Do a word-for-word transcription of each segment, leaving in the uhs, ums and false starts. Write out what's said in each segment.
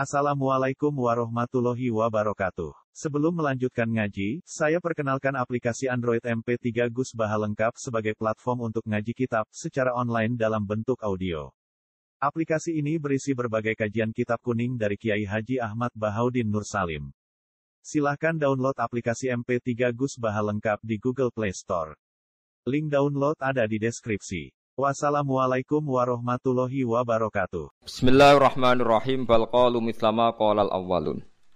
Assalamualaikum warahmatullahi wabarakatuh. Sebelum melanjutkan ngaji, saya perkenalkan aplikasi Android M P tiga Gus Baha lengkap sebagai platform untuk ngaji kitab secara online dalam bentuk audio. Aplikasi ini berisi berbagai kajian kitab kuning dari Kiai Haji Ahmad Bahaudin Nur Salim. Silahkan download aplikasi M P tiga Gus Baha lengkap di Google Play Store. Link download ada di deskripsi. Wassalamualaikum warahmatullahi wabarakatuh. Bismillahirrahmanirrahim. Bal qalu mislama qalal awwalun.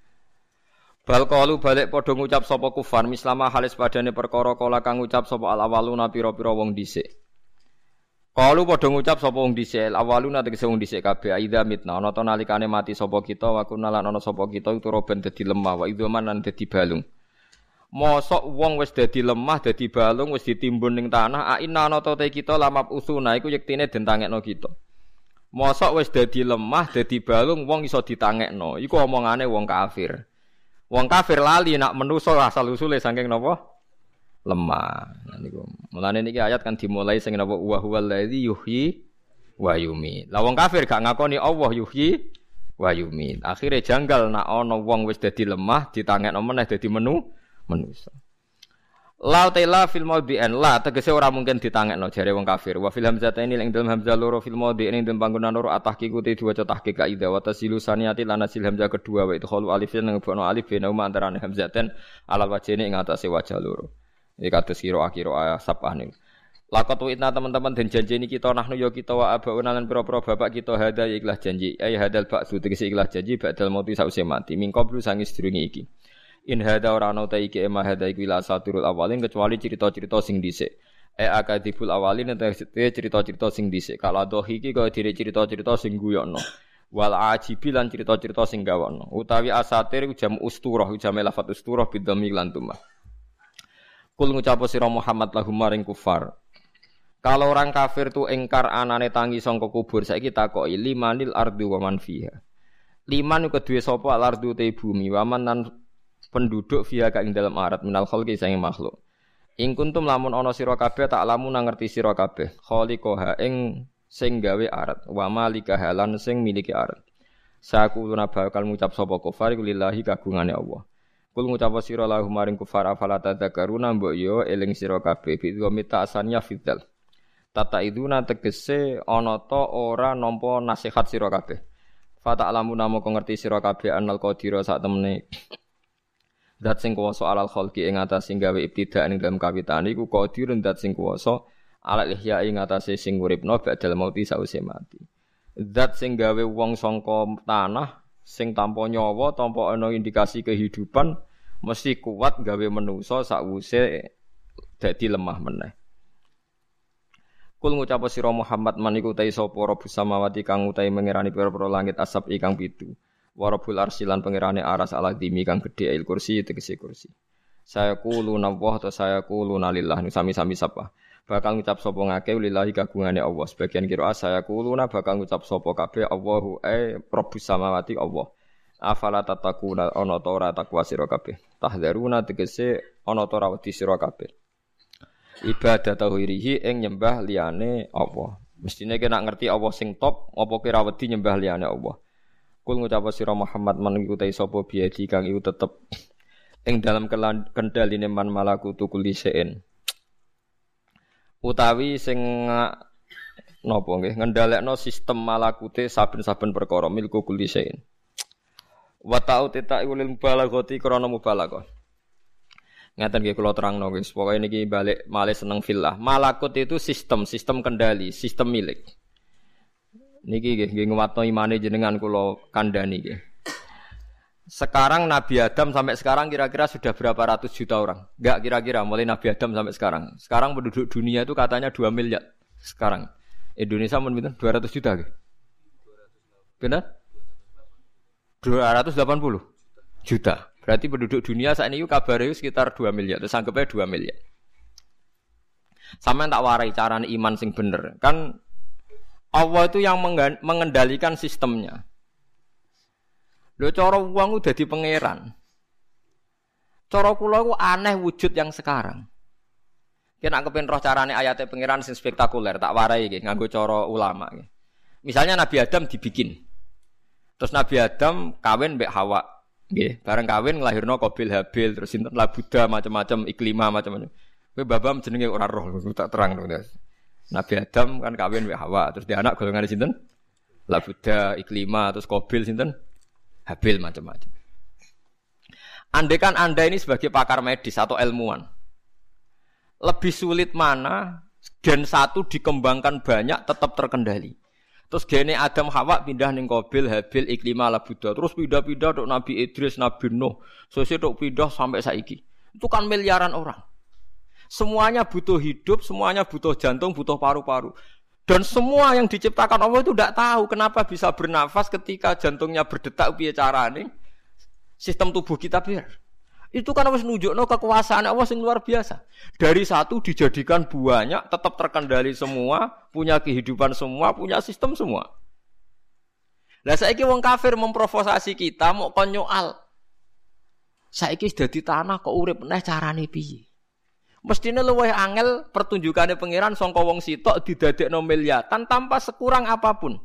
Bal qalu balik padha ngucap sapa kufar mislama halis padane perkara kala kang ngucap sapa al awwaluna pira-pira wong dhisik. Qalu padha ngucap sapa wong dhisik al awwaluna tegese wong dhisik kabeh aidza mitna ana ta nalikane mati sapa kita wa kunna lan ana sapa kita itu roben dadi lemah wa idzaman lan dadi balung. Mosok wong wis dadi lemah, dadi balung, wis ditimbun ning tanah, aina ana ta kita lamap usuna iku yektine den tangekno kita. Mosok wis dadi lemah, dadi balung wong iso ditangekno. Iku omongane wong kafir. Wong kafir lali nak menusa asal usule saking napa? Lemah. Nah niku. Mulane niki ayat kan dimulai sing napa wa huwal ladzi yuhyi wa yumiit. Lah wong kafir gak ngakoni Allah yuhyi wa yumiit. Akhire janggal nak ana wong wis dadi lemah ditangekno meneh dadi menu manusa. La ta'ala fil maudhi'an la tegese ora mungkin ditangekno jare wong kafir. Wa fil hamzataini ing dalem hamzah loro fil maudhi'in ing dalem panggonan loro atahqiqu te diwaca tahqiq kaida wa tasilu saniyati lan asil hamzah kedua wa itu khalu alif lan ngebono alif bena antarané hamzaten alal wajhine ing atase wajah loro. Iki kados kira akhira sabah niku. Laqad wa'idna teman-teman den janjeni kita nahnu ya kita wa abauna lan pira-pira bapak kita hada ya ikhlas janji. Ay hadal ba'su tegese ikhlas janji ba'dal mauti sause mati. Mingko blu sangis sedurunge iki. In hada ora ana ta iki ema hada iki la saturul awalin kecuali cerita-cerita sing dhisik. E akadibul awalin ente cerita-cerita sing dhisik. Kala dohi iki kaya dire cerita-cerita sing guyokno. Wal ajibi lan cerita-cerita sing gawokno. Utawi asatir jam usturah jam lafat usturah bidhammi lan tumah. Kul ngucap sira Muhammad lahum maring kufar. Kalau orang kafir tu engkar anane tangi sangka kubur saiki takoki limanil ardu wa man fiha. Liman iku duwe sapa al ardu te bumi wa man nan penduduk via ka ing dalam arat minal khalqi sange makhluk. Ing kuntum lamun ana sira kabeh tak lamun ngerti sira kabeh khaliqaha ing sing gawe arat wa malikaha lan sing miliki arat. Sakuluna bakal ngucap sapa kufar lillahi kagungane Allah. Kul ngucap sira lahu maring kufar afala tadzakaruna mbok yo eling sira kabeh bi mita asannya fidal. Tata iduna tegese ana ta ora nampa nasihat sira kabeh. Fa ta'lamuna moko ngerti sira kabeh anal qadira sak temene dat sing kuwasa alal khalqi ing atase gawe ibtidak ing dalam kawitan iku qadirun dat sing kuwasa alal ihya ing atase sing uripno badal mauti sause mati. Zat sing gawe wong sangka tanah sing tanpa nyawa tanpa ana indikasi kehidupan mesti kuat gawe manusa sakwuse dadi lemah meneh. Kul ngucap sira Muhammad man iku ta sapa rabbus samawati kang utahe mengerani pira-pira langit asap ikang pitu. Warabul arsilan pangerane aras ala dimi kang gedhe il kursi tegese kursi. Saya quluna wa ta saya quluna lillah nu sami-sami sapa. Bakal ngucap sapa ngake lillahi kagungane Allah. Sebagian kira saya quluna bakal ngucap sapa kabeh Allahu ay rabbus samawati Allah. Afala tatakuna ana ta ora takwa sira kabeh. Tahdzaruna tegese ana ta ora wedi sira kabeh. Ibadah tauhirihi ing nyembah liyane Allah. Mestine kena ngerti Allah sing top apa kira wedi nyembah liyane Allah. Kul ngucap sira Muhammad man ngikuti sapa biadi kang iku tetep ing dalam kendhaline man malakutu kulisein. Utawi sing napa nggih ngendhalekno sistem malakute saben-saben perkara milku kulisein. Wa ta'uti ta'ulil mubalaghati krana mubalaghah. Ngaten nggih kula terangno guys, pokoke niki balik malih seneng fillah. Malakut itu sistem, sistem kendali, sistem milik. Niki nggih nggih nguwatno imane jenengan kula kandhani nggih. Sekarang Nabi Adam sampai sekarang kira-kira sudah berapa ratus juta orang? Enggak kira-kira mulai Nabi Adam sampai sekarang. Sekarang penduduk dunia itu katanya dua miliar. Sekarang Indonesia mun pinten? dua ratus juta nggih. Benar? dua ratus delapan puluh juta. Berarti penduduk dunia saat ini kabare sekitar dua miliar. Terus anggapnya dua miliar. Sampeyan tak warai carane iman sing bener. Kan Allah itu yang mengendalikan sistemnya. Lho cara wong udah di pangeran. Cara kula iku aneh wujud yang sekarang. Kena kepen roh carane ayate pangeran sing spektakuler, tak warai iki nganggo cara ulama iki. Misalnya Nabi Adam dibikin. Terus Nabi Adam kawin mbek Hawa. Nggih, bareng kawin nglahirno Qabil Habil terus sinten Labuda macam-macam Iklima macam-macam. Kowe babam jenenge ora roh tak terang to. Nabi Adam kan kawin mbek Hawa, terus dia anak golongane sinten? Labuda, Iklima, terus Qabil sinten? Habil macam-macam. Andekan Anda ini sebagai pakar medis atau ilmuwan, lebih sulit mana gen satu dikembangkan banyak tetap terkendali. Terus gene Adam Hawa pindah ning Qabil, Habil, Iklima, Labuda. Terus pindah-pindah tok Nabi Idris, Nabi Nuh. Sesuk tok pindah sampai saiki. Itu kan miliaran orang. Semuanya butuh hidup, semuanya butuh jantung, butuh paru-paru. Dan semua yang diciptakan Allah itu tidak tahu kenapa bisa bernafas ketika jantungnya berdetak piye carane. Sistem tubuh kita biar. Itu kan harus nunjukno kekuasaan Allah yang luar biasa. Dari satu dijadikan banyak, tetap terkendali semua, punya kehidupan semua, punya sistem semua. Lah saiki wong kafir memprovokasi kita mau kon nyoal. Saiki dadi tanah kok urip neh carane piye? Mestine luwih angel pertunjukane pangeran sangka wong sitok didadekno miliatan tanpa sekurang apapun.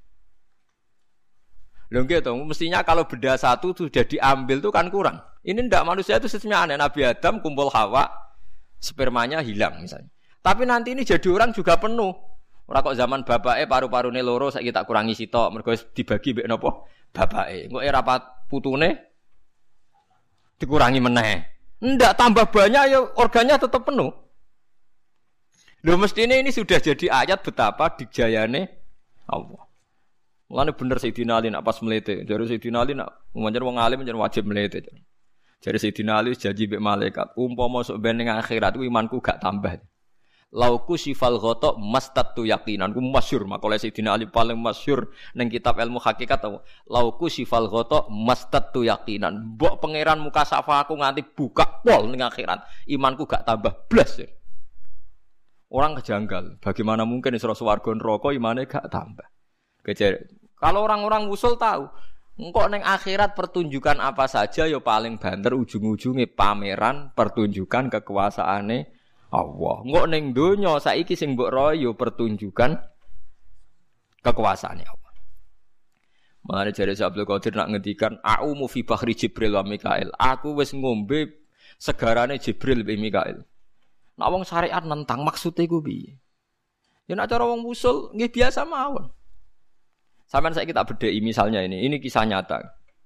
Lho nggih to, mestinya kalau benda satu sudah diambil itu kan kurang. Ini ndak manusia itu sistemnya aneh. Nabi Adam kumpul Hawa, spermanya hilang misalnya. Tapi nanti ini jadi orang juga penuh. Ora kok zaman bapake paru-parune loro saiki tak kurangi sitok mergo dibagi mbek napa? Bapake. Engko ora putune dikurangi meneh. Ndak tambah banyak ya organnya tetap penuh. Lho mestine ini sudah jadi ayat betapa dijayane Allah. Mulane bener Sayyidina Ali nak pas mlete. Jare Sayyidina Ali nak manjen wong alim manjen wajib mlete. Jare Sayyidina Ali janji mbek malaikat, umpama sok ben ning akhirat ku imanku gak tambah. Lauku sifal ghata mastatu yaqinan. Ku masyhur makale Sayyidina Ali paling masyhur ning kitab ilmu hakikat. Lauku sifal ghata mastatu yaqinan. Mbok pangeran muka safa aku nganti buka pol ning akhirat, imanku gak tambah blas. Orang kejanggal, bagaimana mungkin isra swarga neraka imane gak tambah. Kejar. Kalau orang-orang usul tahu, engkau neng akhirat pertunjukan apa saja yo paling banter ujung-ujungnya pameran pertunjukan kekuasaane Allah. Engkau neng donya saiki sing mbok royo pertunjukan kekuasaane Allah. Mulane jare Abdul Qadir nak ngendikan a'umu fi bahri Jibril wa Mikail. Aku wis ngombe segarane Jibril be Mikail. Nek wong syariat nentang maksude ku piye? Ya nek cara wong usul nggih biasa mawon. Sampai saya kita bedai misalnya ini, ini kisah nyata.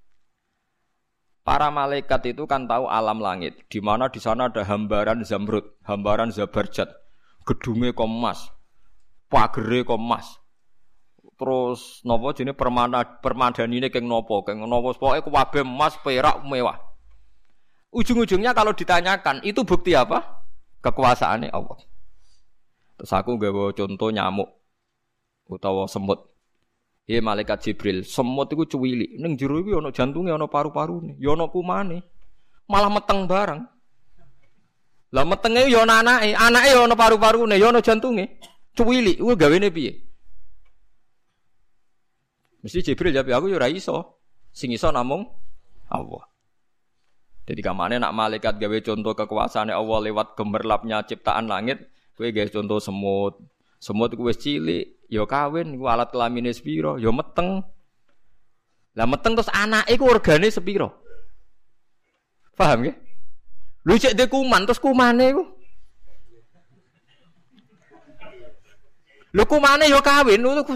Para malaikat itu kan tahu alam langit, di mana di sana ada hambaran zamrud, hambaran zabarjat, gedungnya emas, pagere emas. Terus nopo jenis permana permadanine keng nopo, keng nopo pokoke kabeh emas, perak, mewah. Ujung-ujungnya kalau ditanyakan, itu bukti apa? Kekuasaane Allah. Terus aku gawe contoh nyamuk utawa semut. Ya malaikat Jibril, semut iku cuwilik, ning jero iku ana jantunge, ana paru-parune, ya ana kumane. Malah meteng bareng. Lah metenge ya ana anake, anake ya ana paru-parune, ya ana jantunge. Cuwilik, kuwi gawene piye? Mesti Jibril jawab, aku ya ora iso. Sing iso namung Allah. Jadi kamane nak malaikat gawe contoh kekuasaane Allah lewat gemerlapnya ciptaan langit, kowe gawe contoh semut. Semut iku wis cilik, ya kawin iku alat kelamine sepiro, ya meteng. Lah meteng terus anake iku organe sepiro? Paham nggih? Lho cek de kuman terus kumane iku. Lho kumane ya kawin lho.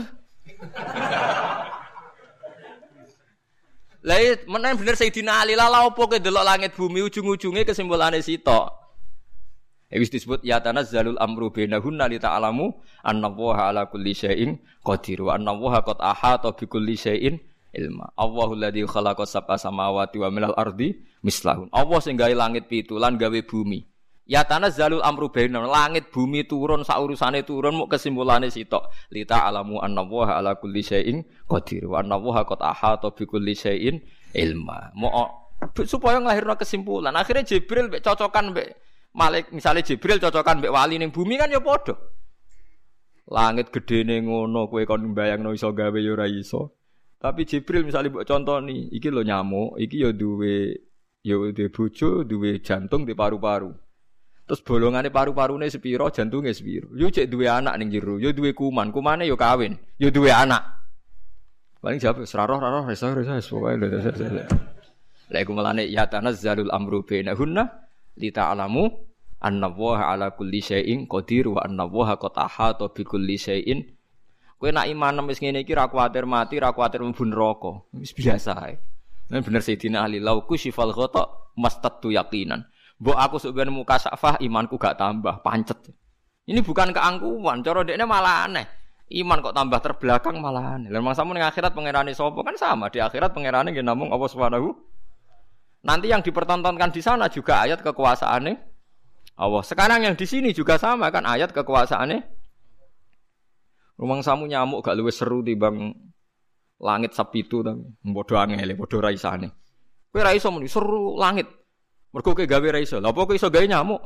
Lah menen bener Sayyidina Ali lah opo ke delok langit bumi ujung-ujunge kesimpulane sitok. Wis disebut ya tanazzalul amru bainahunna li ta'lamu annallaha ala kulli syai'in qadir wa annallaha qad ahata bi kulli syai'in ilma. Allahul ladzi khalaqa sab'a samawati wa minal ardi mislahun. Allah sing gawe langit pitu lan gawe bumi. Ya tanazzalul amru bainahunna, langit bumi turun sak urusane turun muk kesimpulane sitok. Li ta'lamu annallaha ala kulli syai'in qadir wa annallaha qad ahata bi kulli syai'in ilma. Mo supaya nglahirno kesimpulan. Akhirnya Jibril mbek cocokan mbek Malik misalnya Jibril cocokan mbek wali ning bumi kan ya padha. Langit gedene ngono kowe kon mbayangno iso gawe ya ora iso. Tapi Jibril misalnya mbok contoni, iki lho nyamuk, iki ya duwe ya duwe bojo, duwe jantung, duwe paru-paru. Terus bolongane paru-parune sepiro, jantunge sepiro. Yo cek duwe anak ning jero, yo duwe kuman, kumane yo kawin, yo duwe anak. Paling jawab seraroh roh reso reso pokoke lho. Lha iku melane ya tanazzalul amru bainahunna li ta'lamu annallaha ala kulli syai'in qadir wa annallaha qad ahata bi kulli syai'in. Kowe nak iman wis ngene iki ra kuwatir mati, ra kuwatir mlebu neraka. Wis biasa ae. Nen bener Sayyidina Ali lau kusyifal ghata mastatu yaqinan. Mbok aku sok ben muka safah imanku gak tambah, pancet. Ini bukan keangkuhan, cara dekne malah aneh. Iman kok tambah terbelakang malah aneh. Lah mangsamu ning akhirat pangerane sapa kan sama, di akhirat pangerane nggih namung Allah Subhanahu. Nanti yang dipertontonkan di sana juga ayat kekuasaane Allah. Sekarang yang di sini juga sama kan ayat kekuasaane. Rumang samu nyamuk gak luwih seru timbang langit sapitu ta. Padha angele, padha ra isane. Kowe ra iso muni seru langit. Mergo kowe gawe ra iso. Lha apa kowe iso gawe nyamuk?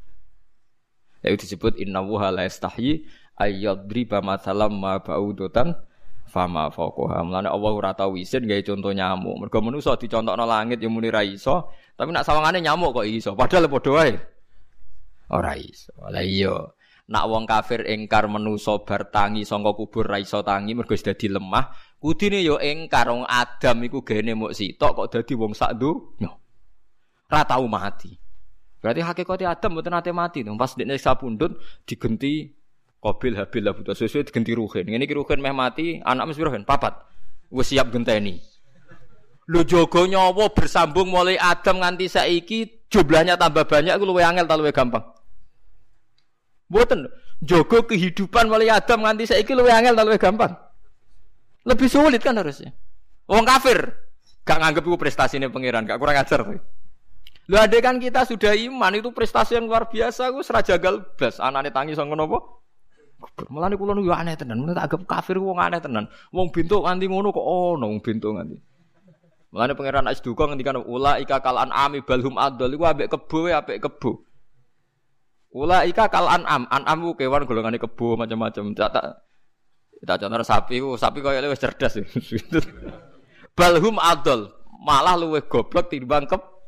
Ya disebut innallaha la yastahyi ayyadriba mathalam ma ba'udatan fama fawqaha. Mulane Allah ora tau isin gawe conto nyamuk. Mergo manusa dicontokno langit ya muni ra iso, tapi nak sawangane nyamuk kok iso. Padahal padha wae. Ora iso. Lah iya. Nak wong kafir engkar manusa bar tangi saka kubur ra iso tangi mergo wis dadi lemah, kudune ya engkar wong Adam iku gene muk sitok kok dadi wong sak donya. Ra tau mati. Berarti hakikate Adam mboten nate mati to. Pas dekne sapundhut digenti Qabil Habil lah buta sesuai digenti Ruhin. Ngene iki Ruhin meh mati, anak mesti Ruhin papat. Wis siap genteni. Lho jaga nyawa bersambung mulai Adam nganti saiki jumlahnya tambah banyak iku luwih angel ta luwih gampang? Mboten. Jaga kehidupan mulai Adam nganti saiki luwih angel ta luwih gampang? Lebih sulit kan harusnya. Wong kafir gak nganggep iku prestasine pangeran, gak kurang ajar kowe. Lho ade kan kita sudah iman itu prestasi yang luar biasa ku sera jagal blas anane tangi sanga napa? Mulane kula niku aneh tenan, mulane tak anggap kafir wong aneh tenan. Wong bentuk nganti ngono kok ono wong bentuk nganti. Mulane pangeran Asduka ngendikan ulaika kal an'ami balhum adall iku ambek kebo ambek kebo. Ulaika kal an'am, an'am ku kewan golongane kebo macam-macam. Tak tak tak contoh sapi ku, sapi koyo wis cerdas. Balhum adall, malah luwih goblok timbang kebo.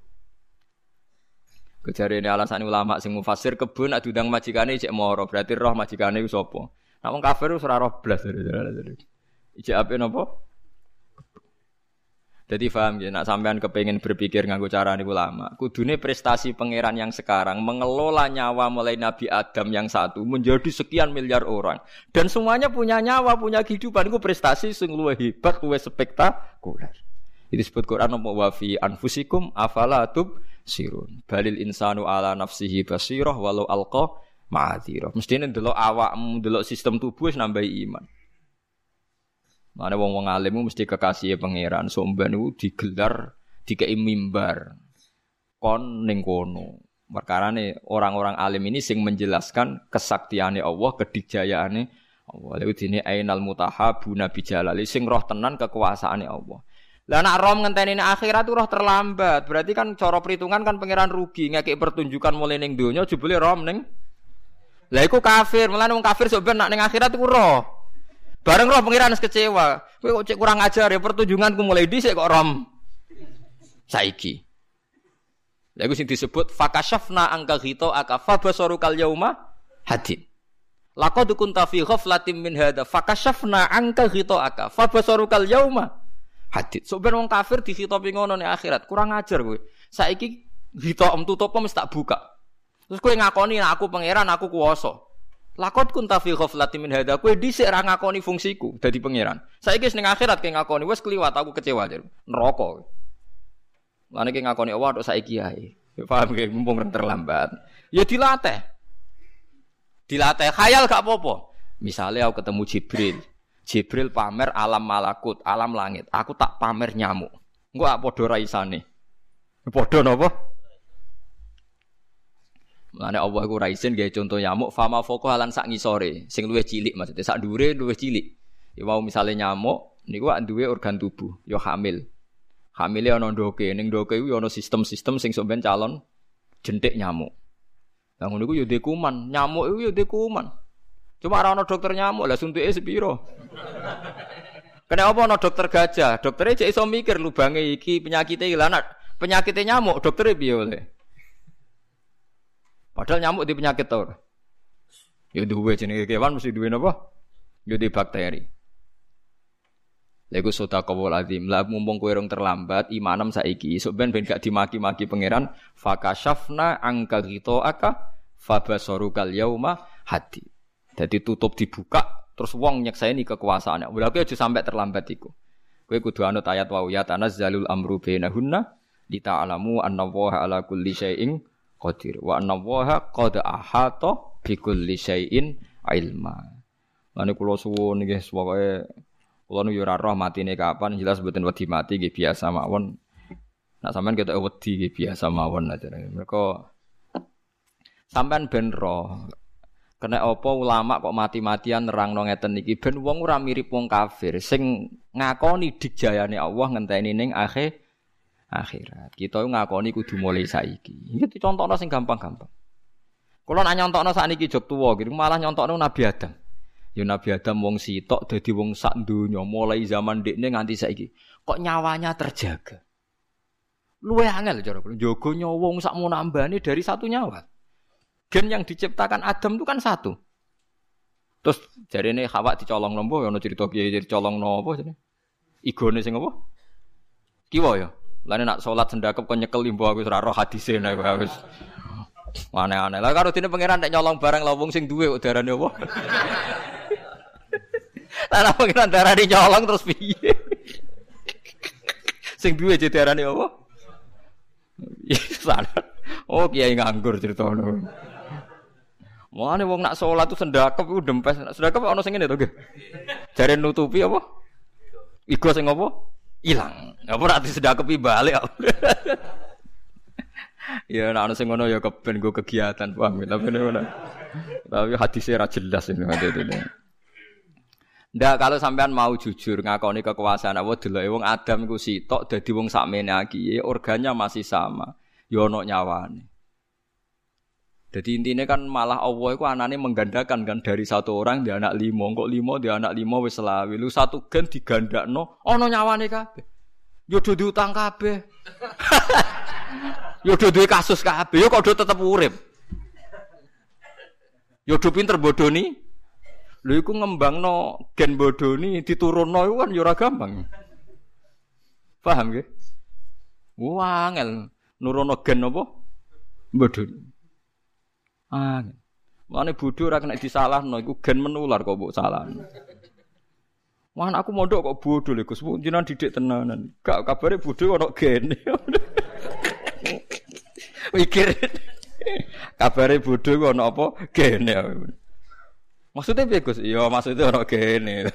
Kejarene alasan ulama sing mufasir kebun nek diundang majikane cek moro, berarti roh majikane ku sapa? Nek wong kafir wis ora roh blas. Ijek ape napa? Dadi paham ya, nek sampean kepengin berpikir nganggo carane ulama, kudune prestasi pangeran yang sekarang mengelola nyawa mulai Nabi Adam yang satu menjadi sekian miliar orang dan semuanya punya nyawa, punya kehidupan, iku prestasi sing luwih hebat, luwih spektakuler. Itu disebut Quran apa wa fi anfusikum afala tub sirun balil insanu ala nafsihi basirah walau alqa ma'adzirah. Mestine ndelok awakmu, ndelok sistem tubuh wis nambahi iman. Mane wong-wong alim mesti kekasih pangeran, somban niku digelar dikei mimbar. Kon ning kono. Perkarane orang-orang alim ini sing menjelaskan kesaktiane Allah, kedikjayaane Allah. Lha dene ainal mutahabuna bijalali sing roh tenan kekuasaane Allah. Lah nek rom ngenteni nek akhirat roh terlambat. Berarti kan cara perhitungan kan pangeran rugi ngekek pertunjukan mulai ning donya jebule rom ning. Lah iku kafir, mulane wong kafir sok ben nek ning akhirat iku roh. Bareng roh pangeran wis kecewa. Kowe kok cek kurang ajar ya pertunjukanku mulai dhisik kok rom saiki. Lah iku sing disebut fakashafna angka ghita akafa basarukal yauma hadid. Laqad kunta fi ghaflatin min hadza fakashafna angka ghita akafa basarukal yauma hadid. So ben wong kafir dikhitopi ngono ning akhirat, kurang ajar kowe. Saiki hitam tutup mesti tak buka. Terus kowe ngakoni aku pangeran, aku kuwasa. Lakot kunta fi ghaflatin min hadza, kowe dhisik ra ngakoni fungsiku dadi pangeran. Saiki ning akhirat kowe ngakoni wis kliwat aku kecewa jar. Neraka. Lan iki ngakoni Allah tok saiki ae. Paham ge mumpung terlambat. Ya dilatih. Dilatih khayal gak apa-apa. Misale aku ketemu Jibril. Jibril pamer alam malakut, alam langit. Aku tak pamer nyamuk. Engko ak padha ra isane. Padha napa? Mane Allah iku ra isin gawe conto nyamuk fama foko halan sak ngisore, sing luwih cilik maksudnya sak dhuwure luwih cilik. Ya mau misale nyamuk niku ak duwe organ tubuh, ya hamil. Hamile ana ndoke, ning ndoke iku ya ana sistem-sistem sing sok ben calon jentik nyamuk. Lah ngono iku ya ndek kuman, nyamuk iku ya ndek kuman. Cuma ora ana dokter nyamuk, lah suntuke sepiro? Kena apa ana dokter gajah? Doktere cek iso mikir lubange iki penyakite iki lah penyakite nyamuk, doktere piye oleh? Padahal nyamuk di penyakit to. Ya duwe jenenge kewan mesti duwe napa? Ya di bakteri. Lha iku sedekahul azim. Lah mumpung kowe rong terlambat imanem saiki, esuk ben ben gak dimaki-maki pangeran, fakashafna angka ghitaaka fabasarukal yauma hadi. Dadi tutup dibuka terus wong nyekseni kekuasaane. Lha kowe aja sampe terlambat iku. Kowe kudu anut ayat wa ya tanazzalul amru bainahunna lita'lamu annallaha ala kulli syai'in qadir wa annallaha qad ahata bi kulli syai'in ilma. Lan kula suwun nggih pokoke kula nu yo ora roh matine kapan jelas mboten wedi mati nggih biasa mawon. Nek sampean ketok wedi nggih biasa mawon aja. Mergo sampean ben roh kena apa ulama kok mati-matian nerangno ngeten iki ben wong ora mirip wong kafir sing ngakoni digjayane Allah ngenteni ning akhir akhirat. Kita ngakoni kudu mulai saiki. Iki dicontokno sing gampang-gampang. Kula nak nyontokno sakniki jog tuwa iki malah nyontokno Nabi Adam. Ya Nabi Adam wong sitok dadi wong sak donya mulai zaman dekne nganti saiki. Kok nyawanya terjaga. Luwe angel cara kula njogo nyawa wong sak munambane dari satu nyawa. Gen yang diciptakan Adam itu kan satu. Terus jarene Hawa dicolong nompo ya ana cerita kiye dicolong nopo jenenge. Igone sing apa? Kiwa ya. Lah nek salat sendakep kok nyekel limbo aku ora roh hadise nek wis. Aneh-aneh. Lah karo dene pangeran nek nyolong barang la wong sing duwe kok darane apa? Lah pangeran darane nyolong terus piye? Sing duwe darane apa? Salah. Oh kiai nganggur ceritane. Mulane wong nak salat tu sendakep iku dempes. Sendakep ana sing ngene to nggih. Jare nutupi apa? Igo sing apa? Ilang. Apa ora disedakepi balik. Ya nek ana sing ngono ya keben go kegiatan paham tapi ngono. Tapi hadise ra jelas ini hadene. Ndak kalau sampean mau jujur ngakoni kekuasaan Allah deloke wong Adam iku sitok dadi wong sakmene iki organnya masih sama. Ya ono nyawane. Jadi intinya kan malah Allah itu anane menggandakan kan dari satu orang dia anak lima, kok lima dia anak lima wis selawe. Lu satu gen digandakno ono nyawane kabeh. Yo do diutang kabeh. Yo do duwe kasus kabeh, yo kok do tetep urip. Yo do pinter bodoni. Lho iku ngembangno gen bodoni diturunno iku kan yo ora gampang. Paham nggih? Wah, angel. Nurono gen apa? Bodoni. Ah. Mane bodho ora kena disalahno iku gen menular kok mbok salahno. Wah anakku mondok kok bodho lho Gus, jenengan didik tenanan. Gak kabare bodho ono gene. Mikir. Kabare bodho kok ono apa? Gene. Maksudnya piye Gus? Iya maksudnya ono gene.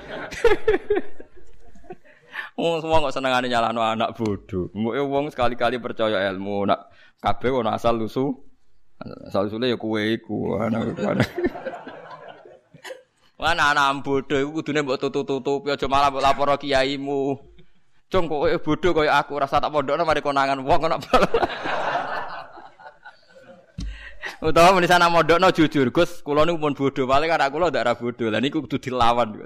Wong semua kok senengane nyalahno anak bodho. Mbuke wong sekali-kali percaya ilmu, nak kabeh ono asal lusu. Asal usule ya kowe iku anak. Ana anak bodho iku kudune mbok tutu-tutupi aja malah mbok lapor kiaimu. Cung kowe bodho kaya aku rasa tak pondokno mari konangan wong kok. Utawa meni sana mondokno jujur, Gus, kula niku pun bodho, paling anak kula ndak ra bodho. Lah niku kudu dilawan.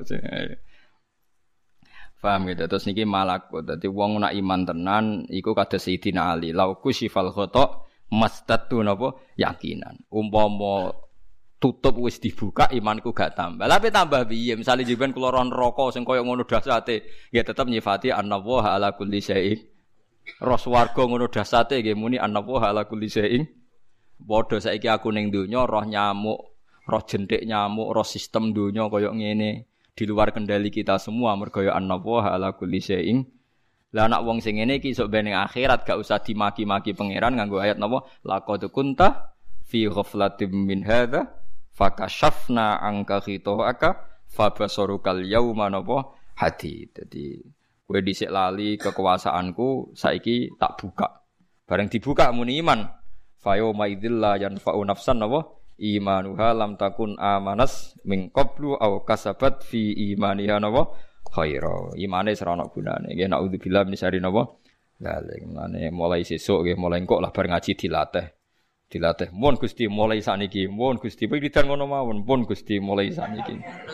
Paham gitu. Terus niki malakut. Dadi wong nak iman tenan iku kados Sayyidina Ali. Lauku sifal khata mastatu napa yakinan. Umpama tutup wis dibuka imanku gak tambah. Lah tambah piye? Misale jenengan kula ron neraka sing kaya ngono dasate, ya tetep nyifati annallaha ala kulli syai'in. Ros warga ngono dasate nggih muni annallaha ala kulli syai'in. Padha saiki aku ning donya roh nyamuk, roh jentik nyamuk, roh sistem donya kaya ngene. Di luar kendali kita semua mergo ya annallaha ala kulli syai'in. Lah anak wong sing ngene iki sok ben ning akhirat gak usah dimaki-maki pangeran nganggo ayat napa laqad kunta fi ghaflatin min hadza fakashafna anka khita'aka fabasarukal yauma napa hadid. Dadi kowe dhisik lali kekuasaanku saiki tak buka. Bareng dibuka muni iman. Fa yauma idzil la yanfa'u nafsan napa imanuha lam takun amanas min qablu aw kasabat fi imaniha napa khaira. Imane ora ana gunane. Nggih naudzubillah min syarri napa. Lah ngene mulai sesuk nggih mulai engko lah bar ngaji dilatih. Dilatih. Mun Gusti mulai sakniki, mun Gusti piridan ngono mawon, mun Gusti mulai sakniki.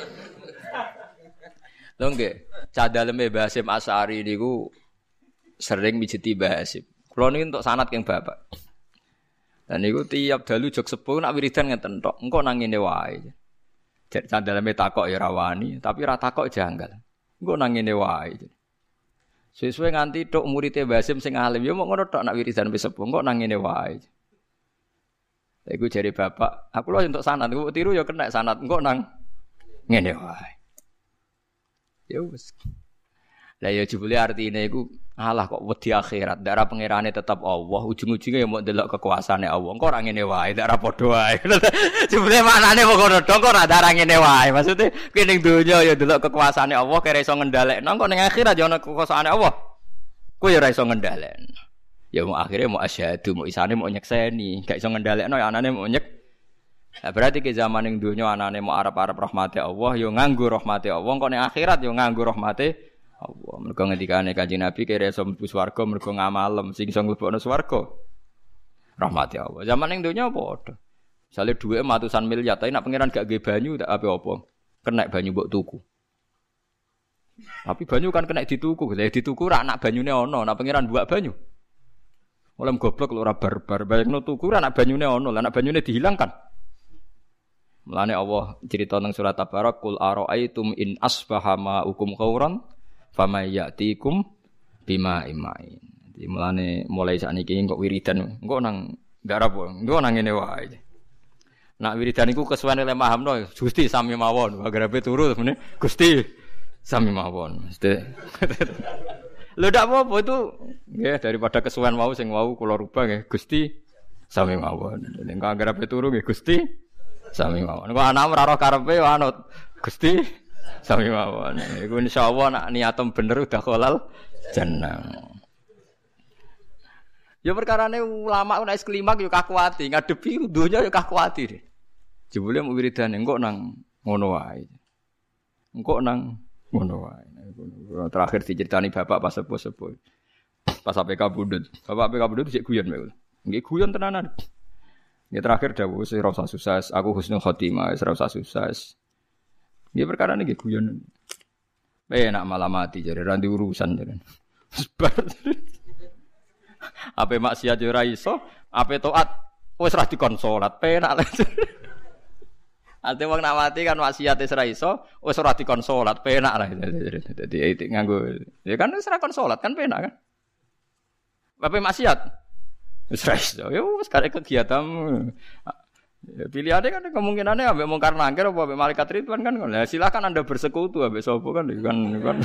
Lho nggih, cah daleme Mbah Hasyim Asy'ari niku sering mijeti Mbah Hasyim. Kula niki entuk sanad keng Bapak. Dan niku tiap dalu jog sepuh nak wiridan ngeten tok. Engko nang ngene wae. Cek cah daleme takok ya rawani, tapi ra takok janggal. Engko nang ngene wae. Suwe-suwe nganti tok murid Mbah Hasim sing alim ya mok ngono tok nak wiridan wis sepuh kok nang ngene wae. Lha iku jare bapak, aku lho entuk sanad, kok tiru ya kena sanad engko nang ngene wae. Ya wis. Lah ya jebule artine iku alah kok wedi akhirat, ndak ra pangerane tetep Allah, ujung-ujunge ya mau ndelok kekuasaane Allah. Engko ora ngene wae, ndak ra padha wae. Jebule maknane kok ngono tok kok ora ora ngene wae. Maksude kowe ning donya ya ndelok kekuasaane Allah, kira iso ngendhalekno, kok ning akhirat ya ana kekuasaane Allah. Kowe ya ora iso ngendhalekno. Ya mau akhirnya mau asyhadu, mau isane mau nyekseni, gak iso ngendhalekno ya anane mau nyek. Nah, berarti ke zaman ning donya anane mau arep-arep rahmate Allah, ya nganggo rahmate Allah, kok ning akhirat ya nganggo rahmate Allah. Mergo ngendikane Kanjeng Nabi kira iso mlebu swarga mergo ngamalem, sing iso mlebokno swarga rahmate Allah. Zaman ning donya padha. Misale dhuwit ratusan miliar, tapi nek pangeran gak nggih banyu tak apa-apa. Kena banyu mbok tuku. Tapi banyu kan kena dituku, lha dituku ra anak banyune ana, nek pangeran buak banyu. Oleh goblok lho ora barbar, bayangno tuku ra anak banyune ana, lah anak banyune dihilangkan. Mulane Allah cerita nang surat Tabarak, "Qul ara'aitum in asbaha ma'ukum ghauran famay ya'tikum bima imain." Jadi mulane mulai sakniki kok wiridan, engko nang garapo, engko nang ngene wae. Nak wiridan iku kesuwen oleh mahamno, Gusti sami mawon, garape turu meneh Gusti sami mawon. Mesti. Lho ndak apa-apa itu nggih daripada kesuwen wau sing wau kula rubah nggih Gusti sami mawon. Nek garape turu nggih Gusti sami mawon. Kok anak ora roh karepe anut Gusti sami mawon. Iku insyaallah nek niatem bener udah halal jannah. Ya perkarane ulama nek klimak yo kakuati, ngadepi donya yo kakuati. Jebule mu wiridan engko nang ngono wae. Engko nang ngono wae. Terakhir diceritani bapak pas sepuh-sepuh. Pas A P K Budut. Bapak A P K Budut sik guyon wae. Nggih guyon tenanan. Nggih terakhir dawuh wis ora usah susah, aku husnul khotimah, wis ora usah susah. Nggih perkara niki guyon. Enak malah mati jare ra urusan jare. Sebar. Ape maksiat yo ora iso, ape taat wis ra dikon salat, penak lho. Ate wong nak mati kan maksiat wis ra iso, wis ora dikon salat, penak lah. Dadi nganggo ya kan wis ra kon salat kan penak kan. Ape maksiat wis ra iso, ya wis kare kegiatanmu. Ya, pilihannya kan kemungkinannya ambek mungkar nangkir apa ambek malaikat ridwan kan. Lah silakan Anda bersekutu ambek sapa kan kan. kan.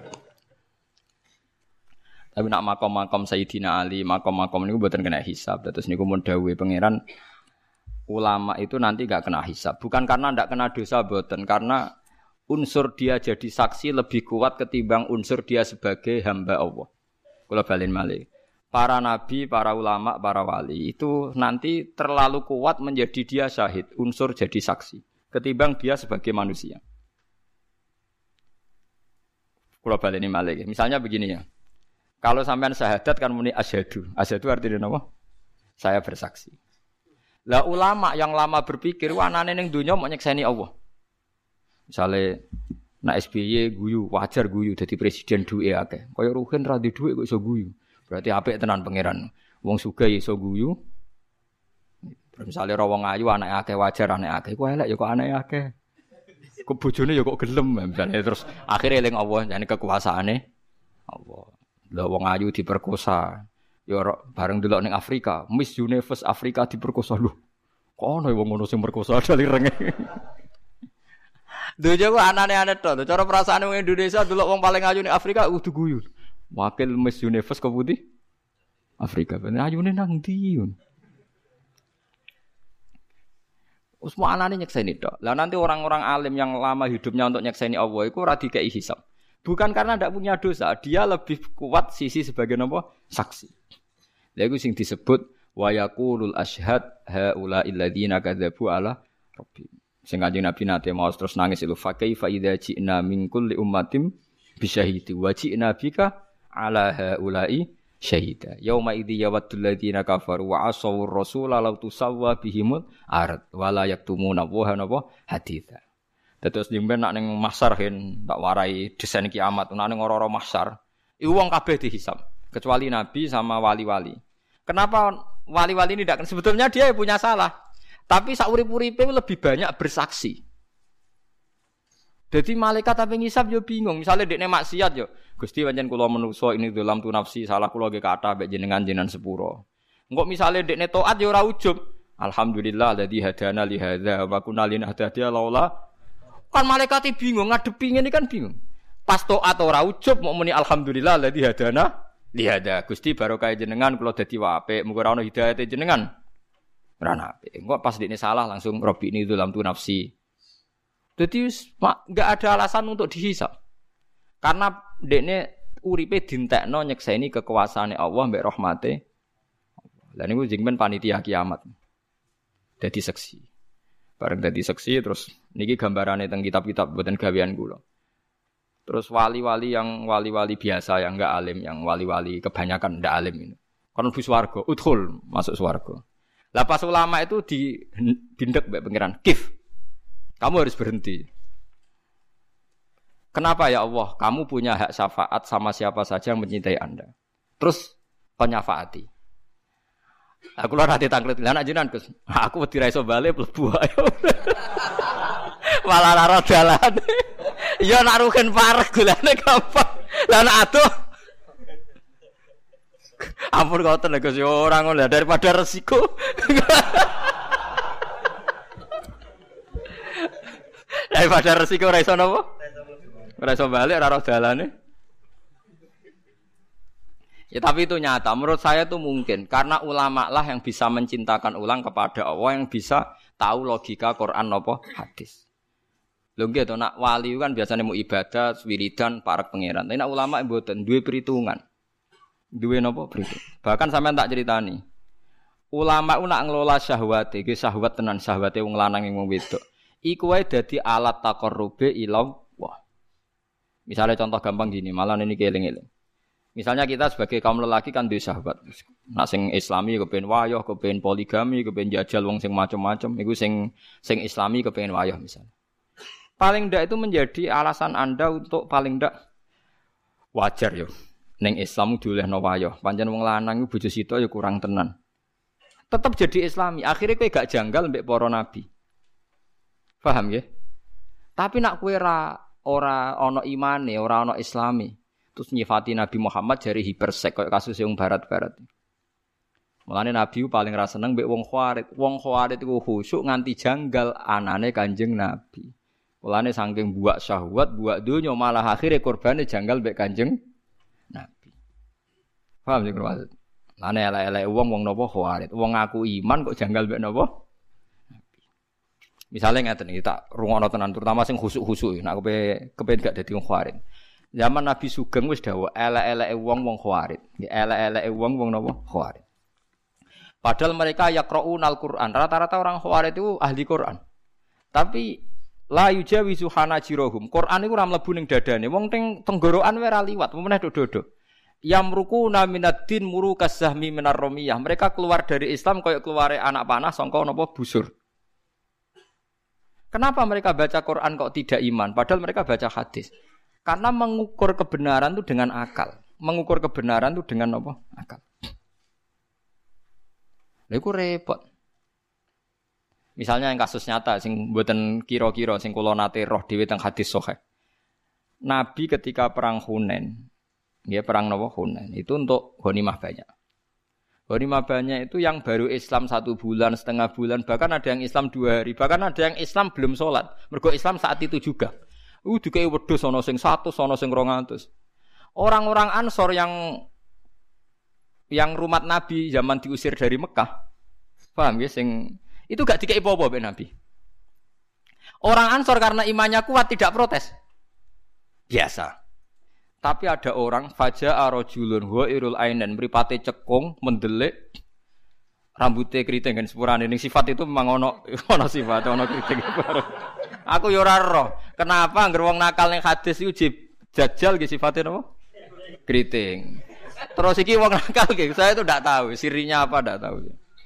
Tapi nak makom-makom Sayyidina Ali, makom-makom niku mboten kena hisab. Terus niku mun dawuhe pangeran ulama itu nanti enggak kena hisab. Bukan karena ndak kena dosa mboten, karena unsur dia jadi saksi lebih kuat ketimbang unsur dia sebagai hamba Allah. Kula balen malih. Para nabi, para ulama, para wali itu nanti terlalu kuat menjadi dia syahid, unsur jadi saksi ketimbang dia sebagai manusia. Kula baleni malih. Misalnya begini ya. Kalau sampean syahadat kan muni asyhadu. Asyhadu artinya apa? Saya bersaksi. Lah ulama yang lama berpikir wanane ning donya mau nyekseni Allah. Misale nak S B Y guyu, wajar guyu dadi presiden duwe akeh. Kaya Ruhin ra duwe dhuwit kok iso guyu. Berarti apik tenan pangeran. Wong sugih iso guyu. Misale ra wong ayu anake akeh wajar anake akeh. Kok elek ya kok anake akeh. Kok bojone ya kok gelem misale terus akhire eling Allah jane kekuasaane Allah. Lah wong ayu diperkosa. Ya bareng delok ning Afrika, Miss Universe Afrika diperkosa lho. Kok ana wong ngono sing perkosa dali renge. Dojo ku anane-ane tok. Cara perasaane wong Indonesia delok wong paling ayu ning Afrika kudu guyu. Wakil Miss Universe kok putih Afrika. Ben ayune nang ndi? Usmo anane nyekseni tok. Lah nanti orang-orang alim yang lama hidupnya untuk nyekseni Allah iku ora dikei hisab. Bukan karena tidak punya dosa, dia lebih kuat sisi sebagai apa? Saksi. Lha iku sing disebut wa yaqulul asyhad haula illadzina kadzabu ala rabbi. Sing Kanjeng Nabi nate maos terus nangis itu fa kaifa idza ji'na min kulli ummatin bisyahidi wa ji'na bika ala haula'i syahida. Yauma idzi yawaddul ladzina kafaru wa asawur rasula law tusawwa bihimul ard wa la yaktumuna wa napa haditha. Terus nyimpen nak ning mahsyar hen tak warai desain kiamat nak ning ora-ora mahsyar. Iku wong kabeh dihisab kecuali nabi sama wali-wali. Kenapa wali-wali ini tidak? Sebetulnya dia punya salah. Tapi saurip-uripe lebih banyak bersaksi. Dadi malaikat tapi ngisab yo bingung. Misale dekne maksiat yo, Gusti pancen kula menungso ini dalam tu nafsi, salah kula nggih kathah mek jenengan jenengan sepuro. Engko misale dekne taat yo ora ujub. Alhamdulillah alladzi hadana li hadza wa kunna linahtadiya laula. Kan malaikat bingung ngadepi ngene kan bingung. Pas taat ora ujub mok muni alhamdulillah alladzi hadana li hadza. Gusti barokah jenengan kula dadi apik, muga ora ono hidayate jenengan. Ora apik. Engko pas dekne salah langsung Rabbi ini dalam tu nafsi. Jadi enggak ada alasan untuk dihisab. Karena dekne uripe dintekno nyekseni kekuasaane Allah mbek rahmate. Lah niku jengmen panitia kiamat. Dadi seksi. Bareng dadi seksi terus niki gambarane teng kitab-kitab mboten gawean kula. Terus wali-wali yang wali-wali biasa yang enggak alim, yang wali-wali kebanyakan ndak alim ini. Kon mlebu swarga, udkhul, masuk swarga. Lah pas ulama itu di dindek mbek pangeran, kif. Kamu harus berhenti. Kenapa ya Allah? Kamu punya hak syafaat sama siapa saja yang mencintai Anda. Terus penyafaati. Aku lho nanti tanglet. Lah nek jenengan Gus, aku wedi ra iso bali mlebu ae. Malah lara dalan. Ya nak rugen parek golane gampang. Lah nek adoh. Ampun ngoten Gus, yo ora ngono daripada resiko. Daripada resiko ora iso napa? Ora iso bali ora roh dalane. Ya tapi itu nyata, menurut saya itu mungkin karena ulama lah yang bisa mencintakan ulang kepada Allah, yang bisa tahu logika Quran napa hadis. Lho nggih to nak wali kan biasanya mau ibadah, wiridan, parek pangeran. Tapi nak ulama mboten duwe perhitungan. Duwe napa perhitungan. Bahkan sampean tak ceritani. Ulama ku nak ngelola syahwat, iki syahwat tenan syahwate wong lanang wong wedok. Iku wae dadi alat taqarrube ila Allah. Misalnya contoh gampang gini, malah ini keling-eling. Misalnya kita sebagai kaum lelaki kan duwe sahabat. Nak sing Islami kepen wayah, kepen poligami, kepen jajal wong sing macam-macam, iku sing sing Islami kepen wayah misalnya. Paling ndak itu menjadi alasan Anda untuk paling ndak wajar yo. Ning Islam diolehno wayah. Pancen wong lanang iku bojo sitok ya kurang tenan. Tetep jadi Islami. Akhirnya kowe gak janggal mbek para nabi. Paham nggih? Tapi nak kowe ora ora ana imane, ora ana Islami. Terus nyifati Nabi Muhammad jari hipersek kayak kasus yang barat-barat. Mulane Nabi paling ra seneng mbek wong Khawarij. Wong Khawarij iku khusyuk nganti janggal anane Kanjeng Nabi. Mulane saking buak syahwat, buak donya malah akhire korbane janggal mbek Kanjeng Nabi. Paham sing maksud? Lane elek-elek wong wong napa Khawarij. Wong ngaku iman kok janggal mbek napa? Nabi. Misale ngeten iki tak rungokno tenan terutama sing khusuk-khusuk nek kowe kepen gak dadi wong Khawarij. Zaman Nabi Sugeng wis dawuh elek-eleke wong-wong Khawarij. Nggih elek-eleke wong-wong napa? Khawarij. Padahal mereka yaqra'unal Qur'an. Rata-rata orang Khawarij itu ahli Qur'an. Tapi la yujawizu hanajirahum. Qur'an iku ora mlebu ning dadane. Wong teng tenggorokan wae ora liwat, meneh dodo. Yamruquna minad-din murukas sahmi minar ramiyah. Mereka keluar dari Islam kaya keluare anak panah sangka napa busur. Kenapa mereka baca Qur'an kok tidak iman? Padahal mereka baca hadis. Karena mengukur kebenaran itu dengan akal. Mengukur kebenaran itu dengan apa? Akal. Lha iku repot. Misalnya yang kasus nyata sing mboten kira-kira sing kula nate roh dhewe teng hadis sahih. Nabi ketika perang Hunain, nggih perang napa Hunain, itu untuk ghanimah banyak. Ghanimah banyak itu yang baru Islam satu bulan, setengah bulan, bahkan ada yang Islam dua hari, bahkan ada yang Islam belum sholat. Mergo Islam saat itu juga. Uh, dikei wedhus ana sing seratus, ana sing rong atus. Orang-orang Ansor yang yang rumat Nabi zaman diusir dari Mekah. Paham ya sing itu gak dikei apa-apa mbek Nabi. Orang Ansor karena imannya kuat tidak protes. Biasa. Tapi ada orang faja'a rajulun ghairul ainen mripate cekung mendelik rambutnya keriting kan sepurane ning sifat itu memang ono ono sifat ono keriting baru. Aku yo ora roh. Kenapa anggere wong nakal ning hadis iku jajal ge sifate napa? Keriting. Terus iki wong nakal ge saya itu ndak tahu sirinya apa ndak tahu.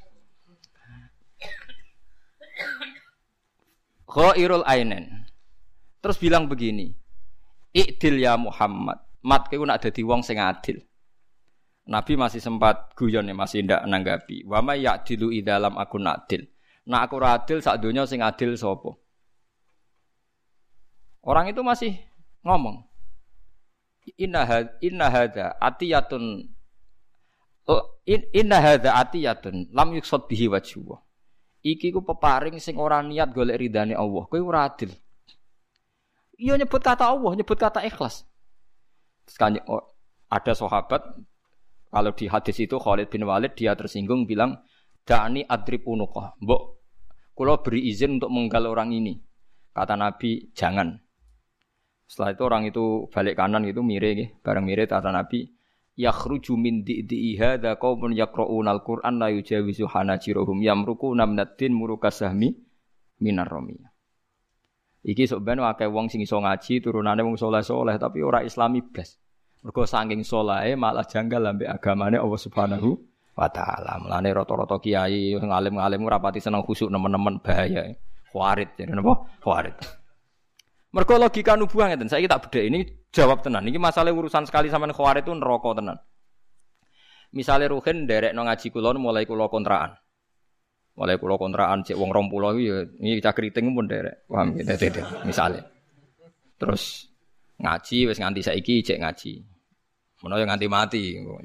Ghairul ainen. Terus bilang begini. I'dil ya Muhammad. Mat kowe nak dadi wong sing adil. Nabi masih sempat guyon ya, masih ndak nanggapi. Wa may ya'dilu idzalam akun adil. Nak aku ora adil sak donya sing adil sapa? Orang itu masih ngomong. Inna had, inna hadza atiyatun in, inna hadza atiyatun lam yuqsad bihi wajhu. Iki ku peparing sing ora niat golek ridane Allah. Kowe ora adil. Iya nyebut kata Allah, nyebut kata ikhlas. Sekali oh, ada sahabat kalau di hadis itu Khalid bin Walid dia tersinggung bilang da'ni adrib unuqah. Mbok kula beri izin untuk menggal orang ini. Kata Nabi, jangan. Setelah itu orang itu balik kanan gitu mire nggih, bareng mire kata Nabi, yakhruju min di'i hadza qaumun yaqra'unal Qur'an la yujawizu hanajiruhum yamruquna minad-din murukasahmi minar ramiyah. Iki sok ben akeh wong sing iso ngaji turunane wong saleh-saleh tapi ora islami blas. Mergo saking salahe malah janggal ambek agamane Allah Subhanahu wa taala. Mulane rata-rata kiai sing alim-alim ora pati seneng khusuk nemen-nemen bahaya. Khawarit jadi napa? Khawarit. Mergo logika nubuwah ngeten. Saiki tak bedhek ini jawab tenan. Iki masalah urusan sekali sampean khawarit itu neraka tenan. Misale Ruhin nderekno ngaji kula mulai kula kontrakan. Mulai kula kontrakan cek wong rong puluh iki ya iki cah kriting pun nderek. Paham gitu misale. Terus ngaji wis nganti saiki cek ngaji. Menawa yo nganti mati.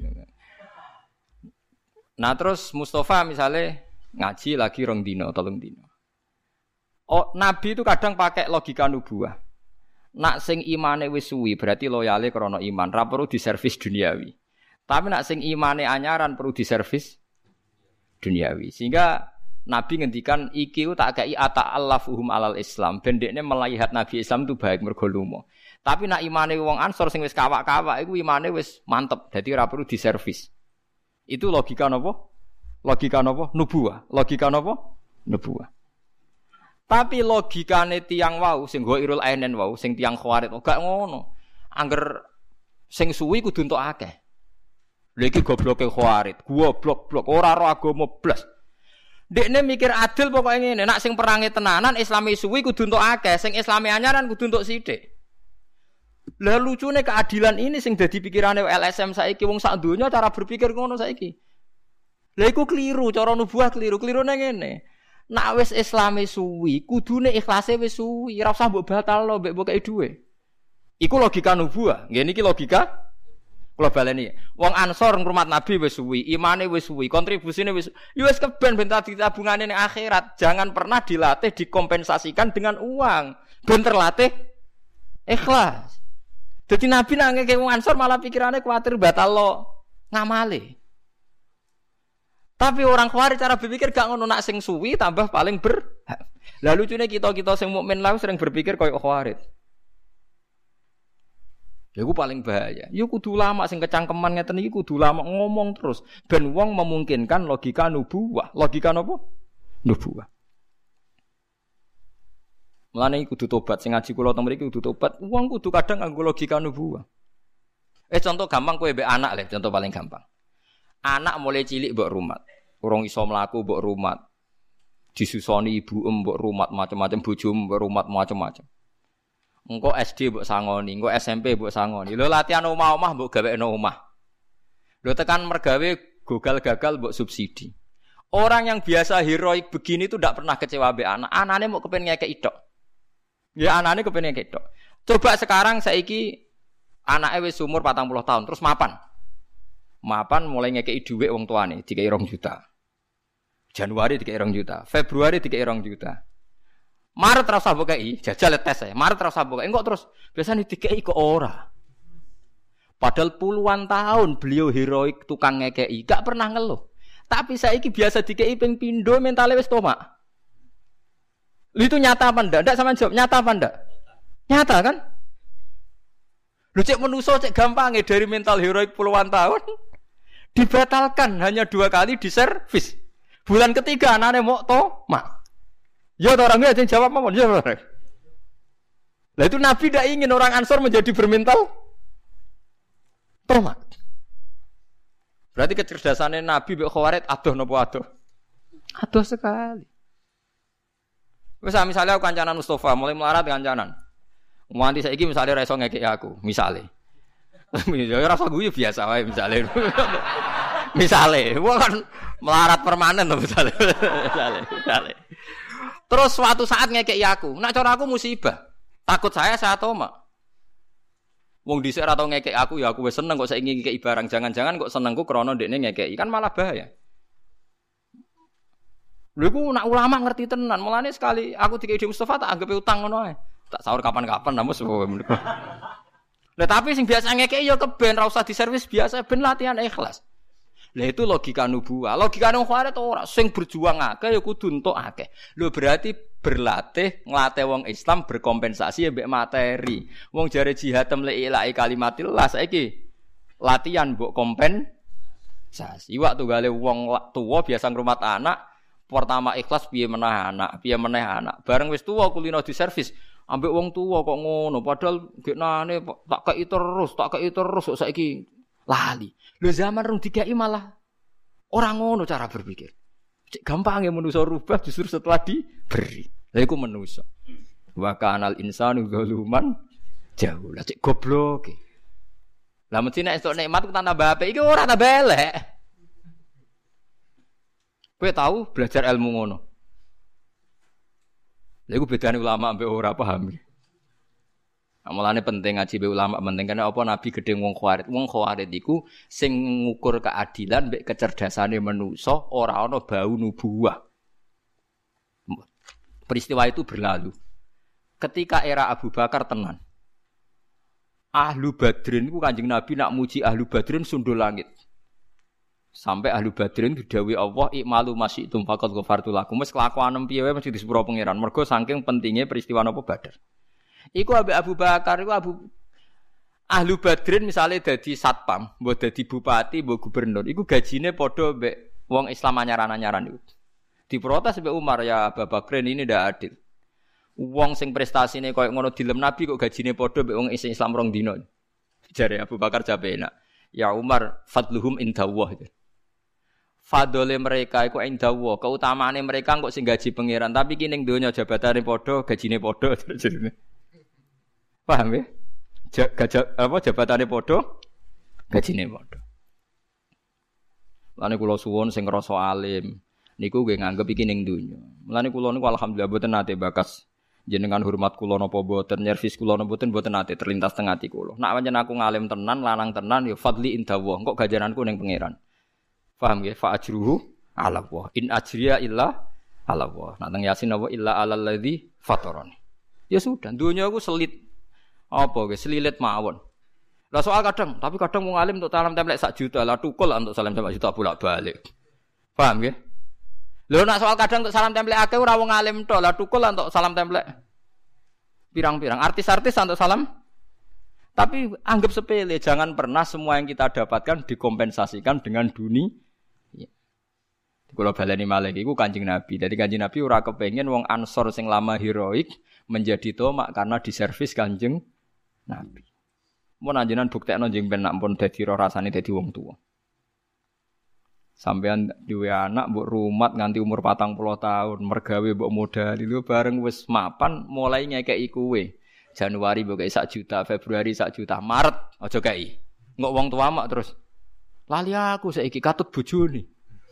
Nah terus Mustafa misalnya ngaji lagi rong dino, tolong dino. Oh Nabi itu kadang pakai logika nubuah. Nak sing imane wis suwi berarti loyale krana iman, ra perlu diservis duniawi. Tapi nak sing imane anyaran perlu diservis duniawi. Sehingga Nabi ngendikan iki tak kei ata'allafuhum alal Islam. Ben dekne melihat Nabi Islam itu baik mergo lumo. Tapi nak imane wong Ansor sing wis kawak-kawak iku imane wis mantep. Dadi ora perlu diservis. Itu logika napa? Logika napa? Nubuwah. Logika napa? Nubuwah. Tapi logikane tiyang wau sing Ghairul Ainen wau sing tiyang Khawarit gak ngono. Angger sing suwi kudu entuk akeh. Lha iki gobloke Khawarit, goblok-blok ora ro agama blas. Dekne mikir adil pokoke ngene, nek sing perange tenanan Islami suwi kudu entuk akeh, sing Islami anyaran kudu entuk sithik. Lah lucune keadilan ini sing dadi pikirane L S M saiki wong sak donya cara berpikir ngono saiki. Lah iku kliru, cara nubuah kliru, klirune ngene. Nek wis Islami suwi, kudune ikhlase wis suwi, ora usah mbok batalno mbek mbok kei dhuwit. Iku logika nubuah. Ngene iki logika kula baleni. Wong Ansor ngrumat Nabi wis suwi, imane wis suwi, kontribusine wis ya wis keben ben tadi tabungane ning akhirat. Jangan pernah dilatih dikompensasikan dengan uang. Ben terlatih ikhlas. Dadi Nabi nang ngeke wong Ansor malah pikirane kuwatir batal lo ngamale. Tapi orang Khawarij cara berpikir gak ngono, nak sing suwi tambah paling ber. Lah lucune kita-kita sing mukmin lah sering berpikir koyo Khawarij. Ya iku paling bahaya. Ya kudu ulama sing kecangkeman ngeten iki kudu ulama ngomong terus ben wong memungkinkan logika nubuwah. Logika napa? Nubuwah. Mulane kudu tobat sing ngaji kula teng mriki kudu tobat. Wong kudu kadang nganggo logika nubuwah. Eh contoh gampang kowe mbek anak le, contoh paling gampang. Anak mulai cilik mbok rumat. Urung iso mlaku mbok rumat. Disusoni ibu mbok rumat macam-macam bojo mbok rumat macam-macam. Engko S D mbok sangoni, engko S M P mbok sangoni. Lho latihan omah-omah mbok gawekno omah. Lho tekan mergawe gagal-gagal mbok subsidi. Orang yang biasa heroik begini itu ndak pernah kecewa mbek anak. Anane mau kepen ngekeki tok. Ya anane kepen ngekeki tok. Coba sekarang saiki anake wis umur patang puluh tahun terus mapan. Mapan mulai ngekeki dhuwit wong tuane dikeki rong juta. Januari dikeki rong juta, Februari dikeki rong juta. Maret terus mbok kei, jajal tes ya. Maret terus mbok kei, engko terus biasane dikeki kok ora. Padahal puluhan tahun beliau heroik tukang ngekeki, gak pernah ngeluh. Tapi saiki biasa dikeki ping pindho mentale wis tomak. Itu nyata apa ndak? Ndak sampean jawab, nyata apa ndak? Nyata kan? Lu cek menuso cek gampang ya dari mental heroik puluhan tahun dibatalkan hanya dua kali di servis. Bulan ketiga anaknya mau tomak. Ya orangnya ada yang jawab apa? Ya orang. Lah itu Nabi tidak ingin orang Ansor menjadi bermental tomak. Berarti kecerdasannya Nabi mbek Khawarij adoh napa adoh? Adoh sekali. Wis misalnya aku kancanan Mustafa mulai melarat kancanan. Nganti saiki misale ra iso ngekeki aku, misale. Ya ora usah guyu biasa wae misale. Misale, wong kan melarat permanen to misale. Misale, misale. Terus suatu saat ngekeki aku, nak cara aku musibah. Takut saya saya tomak. Wong dhisik ora tau ngekek aku ya aku wis seneng kok saiki ngekeki barang. Jangan-jangan kok senengku krana ndekne ngekeki kan malah bahaya. Lha iku nak ulama ngerti tenan. Mulane sekali aku dikei Mustafa tak anggap utang ngono ae. Tak sahur kapan-kapan namus menika. Lah tapi sing biasa ngekeki ya keben ora usah diservis biasa ben latihan ikhlas. Lah itu logika nubuwah. Logika nang khawarit ora sing berjuang akeh ya kudu entuk akeh. Lho berarti berlatih nglatih wong Islam berkompensasi mbek materi. Wong jare jihad temle ilahi kalimatillah saiki latihan mbok kompensasi. Iwak tunggale wong tuwa biasa ngrumat anak, pertama ikhlas piye meneh anak, piye meneh anak. Bareng wis tuwa kulino diservis, ambek wong tuwa kok ngono padahal geknane tak kei terus, tak kei terus kok saiki lali. Lho zaman rung dikai malah ora ngono cara berpikir. Cek gampang ya manusa rubah justru setelah diberi. Lha iku manusa. Wa kanal insanu zaluman jahula. Cek goblok. Lah mesti nek esuk nikmat ku tambah apik iki ora tambah elek. Kowe tahu belajar ilmu ngono. Lha iku bedane ulama ambek ora paham. Amalane penting ngaji be ulama penting karena apa Nabi gedhe wong khawarit. Wong khawarit iku sing ngukur keadilan mbek kecerdasane manusa ora ana bau nubuwah. Peristiwa itu berlalu. Ketika era Abu Bakar tenan. Ahlu Badrin iku Kanjeng Nabi nak muji Ahlu Badrin sundul langit. Sampai Ahlu Badrin didhawuhi Allah ikmalu masyitum faqad ghafartu lakum. Wis kelakuan piye wae mesti disepuro pangeran. Mergo saking pentingnya peristiwa napa Badar. Iku ambek Abu Bakar iku Abu Ahlu Badrin misale dadi satpam, mbok dadi bupati, mbok gubernur, iku gajine padha mbek wong Islam anyaran-anyaran iku. Diprotes mbek Umar, ya Abu Bakar ini ndak adil. Wong sing prestasine koyo ngono dilem Nabi kok gajine padha mbek wong Islam rong dina. Jare Abu Bakar jabe enak. Ya Umar, fadluhum indallah. Fadole mereka iku indallah, keutamaane mereka kok sing gaji pangeran, tapi ki ning donya jabatane padha, gajine padha jenenge. Paham ya? Gajah apa jabatane padha, gajine padha. Lane kula suwun sing ngrasa alim niku nggih nganggep iki ning donya. Mulane kula niku alhamdulillah boten nate bakas jenengan hormat kula napa boten, nyervis kula napa boten boten nate terlintas teng ati kula. Nek pancen aku ngalim tenan, lanang tenan ya fadli indallah, kok gajaranku ning pangeran. Paham nggih? Fa ajruhu ala Allah. In ajriya illa ala Allah. Nek teng Yasin apa illa alal ladzi fatarani. Ya sudah, donya aku selit apa ge selilit mawon. Lah soal kadang, tapi kadang wong alim untuk salam templek sak juta, lah tukul untuk salam templek juta bolak-balik. Paham nggih? Lho nek soal kadang untuk salam templek akeh ora wong alim tok, lah tukul untuk salam templek pirang-pirang. Artis-artis untuk salam. Tapi anggap sepele, jangan pernah semua yang kita dapatkan dikompensasikan dengan dunia. Ya. Kula baleni malih iku Kanjeng Nabi. Dadi Kanjeng Nabi ora kepengin wong Ansor sing lama heroik menjadi tomak karena diservis Kanjeng Nabi. Mun anjenan buktekno njing ben nak pun dadi ro rasane dadi wong tuwa. Sampeyan duwe anak mbok rumat nganti umur patang puluh tahun, mergawe mbok modali lho bareng wis mapan mulai ngekeki kowe. Januari mbok kei sak juta, Februari sak juta, Maret aja kei. Engko wong tua mak terus lali aku saiki katut bojone.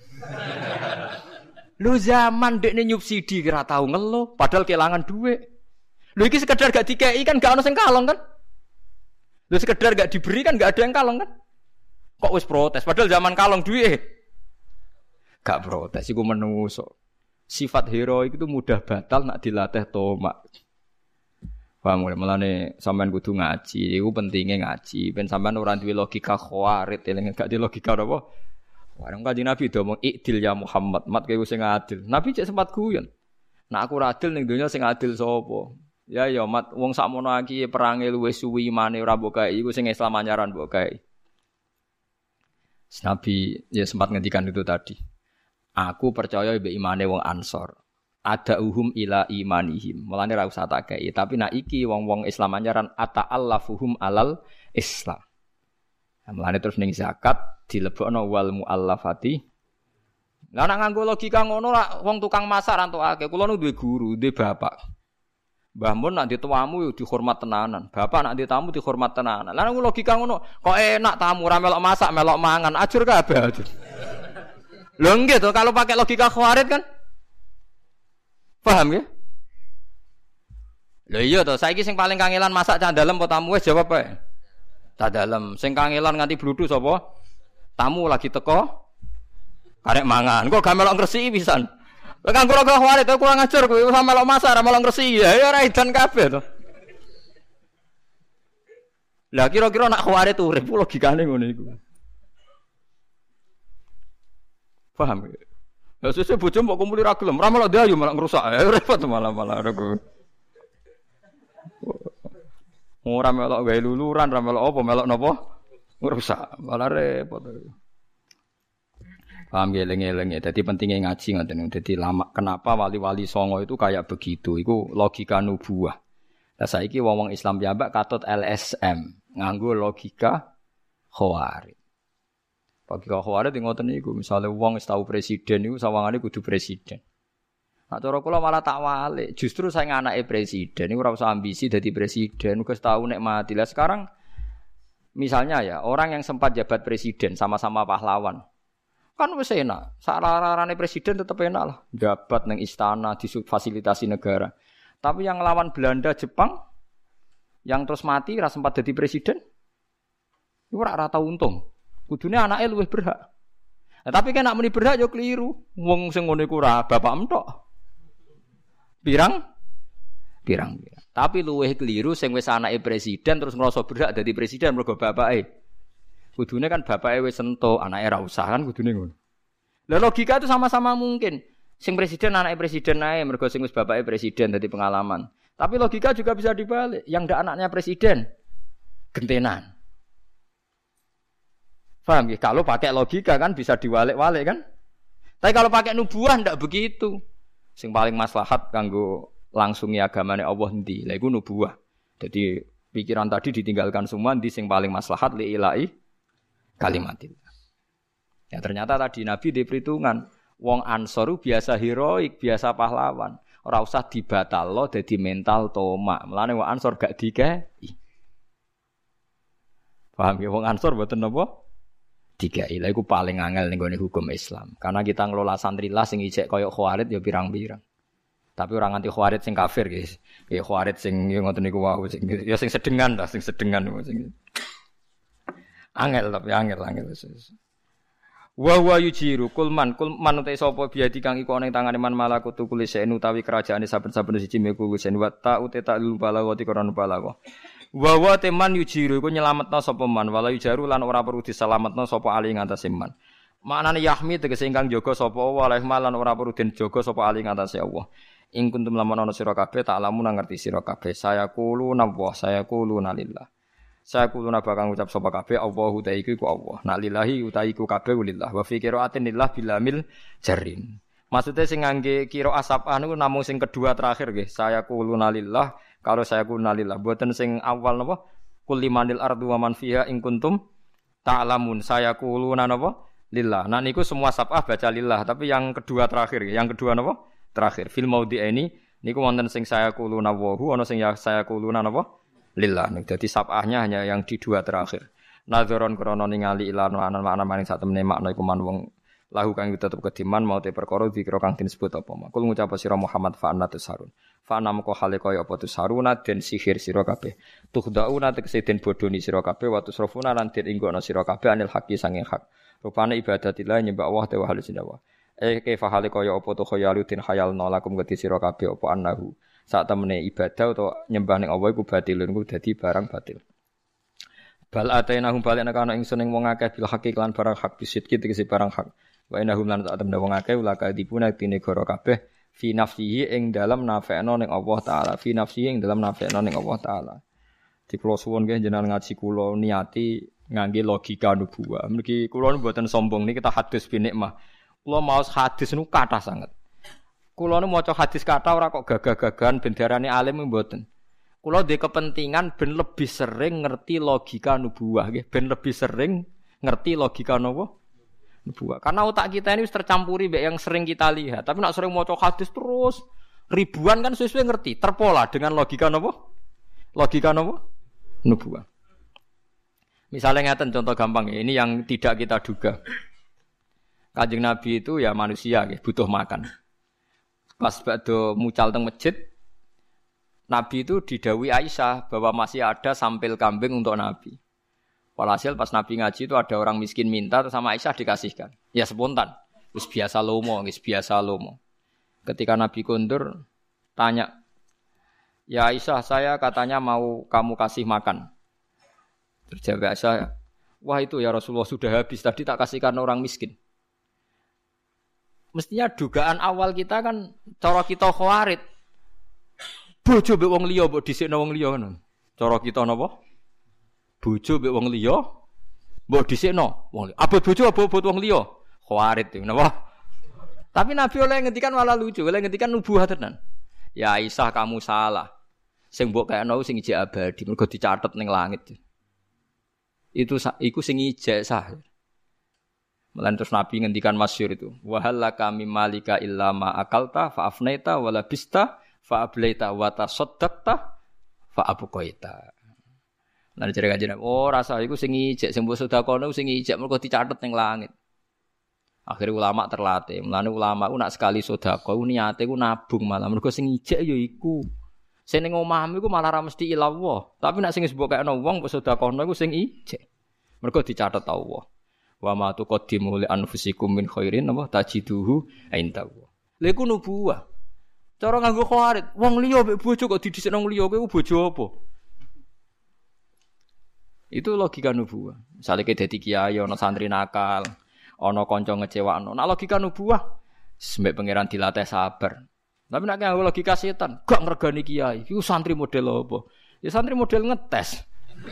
Lho zaman dekne nyubsidi kira tau ngeluh padahal kelangan dhuwit. Lho iki sekedar gak dikei kan gak ono sing kalong kan? Lho sekedar gak diberi kan gak ada yang kalong kan? Kok wis protes padahal zaman kalong duit. Gak protes iku menungso. Sifat heroik itu mudah batal nak dilatih tomak. Paham mulai melane sampean kudu ngaji, iku pentingnya ngaji. Ben sampean ora duwe logika khawarit, eling gak di logika apa? Warung Kanjeng Nabi do ngomong ikdil ya Muhammad, mat kowe sing adil. Nabi cek sempat guyon. Nah aku ora adil ning donya sing adil sapa? Ya ya mat wong sakmono iki perange luwih suwi imane ora mbok gawe iku sing Islam anyaran mbok gawe. Nabi ya sempat ngendikan itu tadi. Aku percaya mbek imane wong Ansor. Ada uhum ila imanihim. Mulane ra usah tak kei, tapi nek iki wong-wong Islam anjaran ata'allafuhum alal Islam. Mulane terus ning zakat dilebokno wal muallafati. Lah nek nganggo logika ngono ra wong tukang masak ra entukake. Kula nu duwe guru, duwe bapak. Mbah mun nek dituamu yo dihormat tenanan. Bapak nek ditamu dihormat tenanan. Lah nek logika ngono, kok enak tamu ra melok masak, melok mangan, ajur kabeh ajur. Lho nggih to kalau pakai logika khawarit kan? Paham ya? Lho iya to, saiki sing paling kangelan masak cah dalem apa tamu wis jawab ae. Cah dalem. Sing kangelan nganti bludhu sapa? Tamu lagi teko karek mangan. Kok gak melok ngresiki pisan. Lah kanggo ora khawatir to kurang ajar kowe ora melok masak ora melok ngresiki. Ya ora edan kabeh to. Lah kira-kira nak khawatir urip logikane ngono iku. Paham ya? Lah sesuk bojo mbok kumpuli ra gelem, ora melok dayu malah ngrusak. Ya repot malah-malah aku. Ora melok gawe luluran, ora melok apa, melok napa? Ngrusak. Malah repot. Paham ya eling-eling ya. Dadi pentingnya ngaji ngoten. Dadi lama kenapa wali-wali songo itu kayak begitu? Iku logika nubuwah. Lah saiki wong-wong Islam piyambak katut L S M, nganggo logika Khawarij. Logika Khawarij ngoten niku, misale wong wis tau presiden niku sawangane kudu presiden. Nah, cara kula malah tak walik. Justru saya anake presiden, ini ora usah ambisi dadi presiden, wis tau nek mati. Lah sekarang misalnya ya, orang yang sempat jabat presiden sama-sama pahlawan. Kan wis enak. Sararane presiden tetep enak lah. Jabat nang istana, difasilitasi negara. Tapi yang ngelawan Belanda, Jepang yang terus mati ora sempat jadi presiden. Iku ora ora tau untung. Kudune anake luwih berhak. Nah, tapi kan nek muni berhak yo keliru. Wong sing ngono iku ora bapak entok. Pirang? Pirang, pirang. Tapi luwih keliru sing wis anake presiden terus ngrasa berhak dadi presiden mergo bapake. Kudune kan bapake wis entuk, anake ora usah kan kudune ngono. Lah logika itu sama-sama mungkin. Sing presiden anake presiden ae mergo sing wis bapake presiden dadi pengalaman. Tapi logika juga bisa dibalik. Yang ndak anaknya presiden gentenan. Paham ya? Kalau pakai logika kan bisa diwalik-walik kan? Tapi kalau pakai nubuah ndak begitu. Sing paling maslahat kanggo langsungi agamane Allah endi? Lha iku nubuwah. Jadi pikiran tadi ditinggalkan semua endi sing paling maslahat li ilahi kalimatillah. Ya ternyata tadi Nabi di perhitungan wong Ansor biasa heroik, biasa pahlawan. Ora usah dibatalno dadi mental tomak. Mulane wong Ansor gak dikei. Paham ya wong Ansor mboten napa? Dikei. Lha iku paling angel ning gone hukum Islam. Karena kita ngelola santrillah sing ijek koyo Khawarij ya pirang-pirang. Tapi orang anti Khawarij sing kafir guys. Ya Khawarij sing ngoten niku wae sing ya sing sedengan lah, sing sedengan sing. Angel tapi angel angel. Wa wa yujiru kulman kulman uta sapa biadi kang iku ana ing tangane man malakutu kulisen utawi kerajaane saben-saben siji meku kusen wa ta uta ta lul balawati koron balawa. Wa wa teman yujiru iku nyelametna sapa man wala yujaru lan ora perlu diselametna sapa ali ngantase man. Maknane yahmi tegese ingkang jaga sapa waleh lan ora perlu den jaga sapa ali ngantase Allah. Ing kuntum lamun ana sira kabeh tak lamun ngerti sira kabeh saya kulo nawah saya kulo nalillah. Saya kulo bakal ngucap sapa kabeh Allahu ta iku Allah. Nak lillahi uta iku kabeh lillah wa fi qiraatin lillah bilamil jarin. Maksudnya sing ngangge qiraah asapah niku namung sing kedua terakhir nggih. Saya kulo nalillah. Kalau saya kunalillah, buatan sing awal napa? Kul limanil ardu wa man fiha in kuntum ta'lamun. Saya kuluna napa? Lillah. Nah niku semua sab'ah baca lillah, tapi yang kedua terakhir, yang kedua napa? Terakhir. Fil maudhi ini niku wonten sing saya kuluna wa hu ana sing ya saya kuluna napa? Lillah. Dadi sab'ahnya hanya yang di dua terakhir. Nadzaron krana ningali ilan ana makna maring sak temene makna iku man wong lahu kang tetep kediman mau te perkara dikira kang disebut apa makul ngucap sira Muhammad fa'anna tusarun fa'ana moko hale kaya apa tusaruna den sihir sira kabeh tuhdauna tegese den bodoni sira kabeh wa tusrafuna lan den inggono sira kabeh anil haqi sanging hak rupane ibadatillah nyembah Allah te wa halus dawa eh ke fa'ale kaya apa tu khayaluddin khayalna lakum gati sira kabeh apa annahu sak temene ibadah utawa nyembah ning Allah iku batilun iku dadi barang batil. Bal atainahum balena kana ingsun ing wong akeh bil haqi lan barang hak bisidki tegese barang hak. Wa inahum lan ta'at wong akeh ulaka dipuna tine goro kabeh fi nafsihi ing dalam nafekno ning Allah taala fi nafsihi ing dalam nafekno ning Allah taala. Di kula suwun nggih jenengan ngaji kula niati ngangge logika nubuwah. Mriki kula mboten sombong niki kita hadis bi nikmah. Kula maos hadis niku kathah sanget. Kula nu maca hadis kathah ora kok gagah-gagahan ben diarani alim mboten. Kula duwe kepentingan ben lebih sering ngerti logika nubuwah nggih, ben lebih sering ngerti logika napa? Nubuwah. Karena otak kita ini tercampuri mbek yang sering kita lihat. Tapi nak sering maca hadis terus ribuan kan sesuai ngerti, terpola dengan logika napa? Logika napa? Nubuwah. Misalnya ngeten contoh gampang ya, ini yang tidak kita duga. Kanjeng Nabi itu ya manusia nggih, butuh makan. Pas badhe mucal teng masjid Nabi itu didhawuhi Aisyah bahwa masih ada sampil kambing untuk Nabi. Walhasil pas Nabi ngaji itu ada orang miskin minta terus sama Aisyah dikasihkan. Ya spontan. Terus biasa lomo, wis biasa lomo. Ketika Nabi kondur tanya, "Ya Aisyah, saya katanya mau kamu kasih makan." Terus jawab Aisyah, "Wah itu ya Rasulullah sudah habis tadi tak kasihkan orang miskin." Mestinya dugaan awal kita kan cara kita khawarit. Bojo mbek wong liya mbok dhisikno wong liya ngono. Cara kita napa? Bojo mbek wong liya mbok dhisikno wong liya. Abot bojo abot wong liya. Khawarit iki napa? Tapi Nabi oleh ngendikan malah lucu, oleh ngendikan nubuah tenan. Ya Aisyah kamu salah. Sing mbok kayakno sing ijek abadi mergo dicatet ning langit. Itu iku sing ijek sah. Malah terus Nabi ngendikan masyhur itu. Wa halaka mimmalika illa ma akalta fa afnaita wala bista fa ablaita wa tasaddaqta fa abqaita. Lan jare kanjeng oh rasa iku sing ijek sing mbok sedekahno sing ijek mergo dicatet ning langit. Akhire ulama terlatih. Mulane ulama ku nak sekali sedekah ku niate ku nabung malah mergo sing ijek ya iku. Sing ning omahmu iku malah ra mesti ilawah. Tapi nak sing wis mbok kayakno wong mbok sedekahno iku sing ijek. Mergo dicatet Allah. Wa ma tuqaddimu li anfusikum min khairin apa tajiduhu indahu. Lha iku nubuwah. Cara nganggo khawarit, wong liya mbek bojo kok didhisikno wong liya kowe bojo apa? Itu logika nubuwah. Misale ke dadi kiai ana santri nakal, ana kanca ngecewakno. Nek logika nubuwah, sembek pangeran dilatih sabar. Tapi nek nganggo logika setan, gak ngregani kiai. Iku santri model apa? Ya santri model ngetes.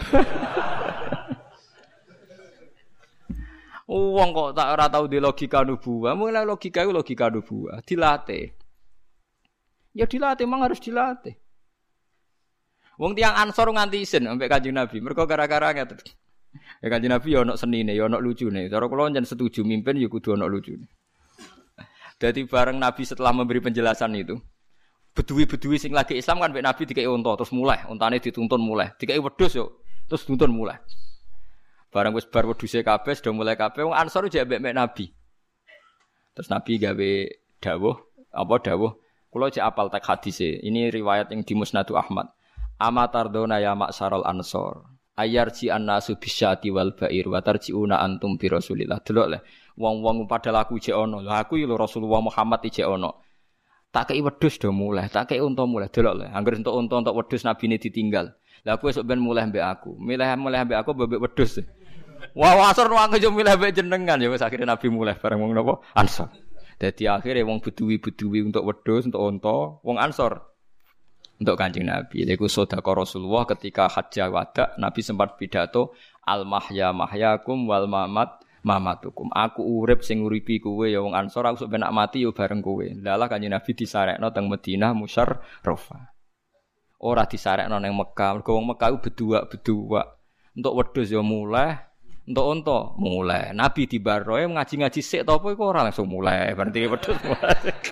Wong kok tak ora tau di logika nubuwah, mulai logika iku logika nubuwah, dilatih. Ya dilatih, memang harus dilatih. Wong tiang Ansor nganti isin ambek Kanjeng Nabi, mergo gara-gara ngeten. Ya Kanjeng Nabi ya ana senine, ya ana lucune. Cara kula njen setuju mimpin ya kudu ana lucune. Dadi bareng Nabi setelah memberi penjelasan itu, beduwi-beduwi sing lagi Islam kan mbek Nabi dikei unta terus mulai, untane dituntun mulai. Dikei wedhus yo, terus tuntun mulai. Bareng wis bar wedhuse kabeh sudah mulai kabeh wong Ansor jek mbek Nabi. Terus Nabi gawe dawuh, apa dawuh? Kula cek apal tek hadise. Ini riwayat yang di Musnadu Ahmad. Amatardona ya ma'syaral ansor. Ayarji annasu bisyati wal ba'ir wa tarjiuna antum bi Rasulillah. Delok le. Wong-wong padahal aku jek ono. Lha aku iki lho Rasulullah Muhammad iki jek ono. Tak kei wedhus do mulai, tak kei unta mulai. Delok le. Angger entuk unta entuk wedhus nabine ditinggal. Lah aku esuk ben mulai mbek aku. Milih-milih mbek aku mbek wedhus. Wah, asor wong yo milih mbek jenengan ya wis akhire Nabi mulai bareng wong napa? Ansor. Dadi akhire wong beduwi-beduwi untuk wedhus, untuk unta, wong Ansor untuk Kanjeng Nabi. Iku sedekah Rasulullah ketika hajjah wada, Nabi sempat pidato al mahya mahyakum wal mamat mamatukum. Aku urip sing nguripi kowe ya wong Ansor, aku sok ben mati yo bareng kowe. Lalah Kanjeng Nabi disarekno teng Madinah musyarrafah. Ora disarekno ning Mekah. Mergo wong Mekah ku bedua-bedua. Untuk wedhus yo mulai, untuk unta mulai. Nabi di baroe ngaji-ngaji sik ta apa iku ora langsung mulai. Berarti wedhus mulai.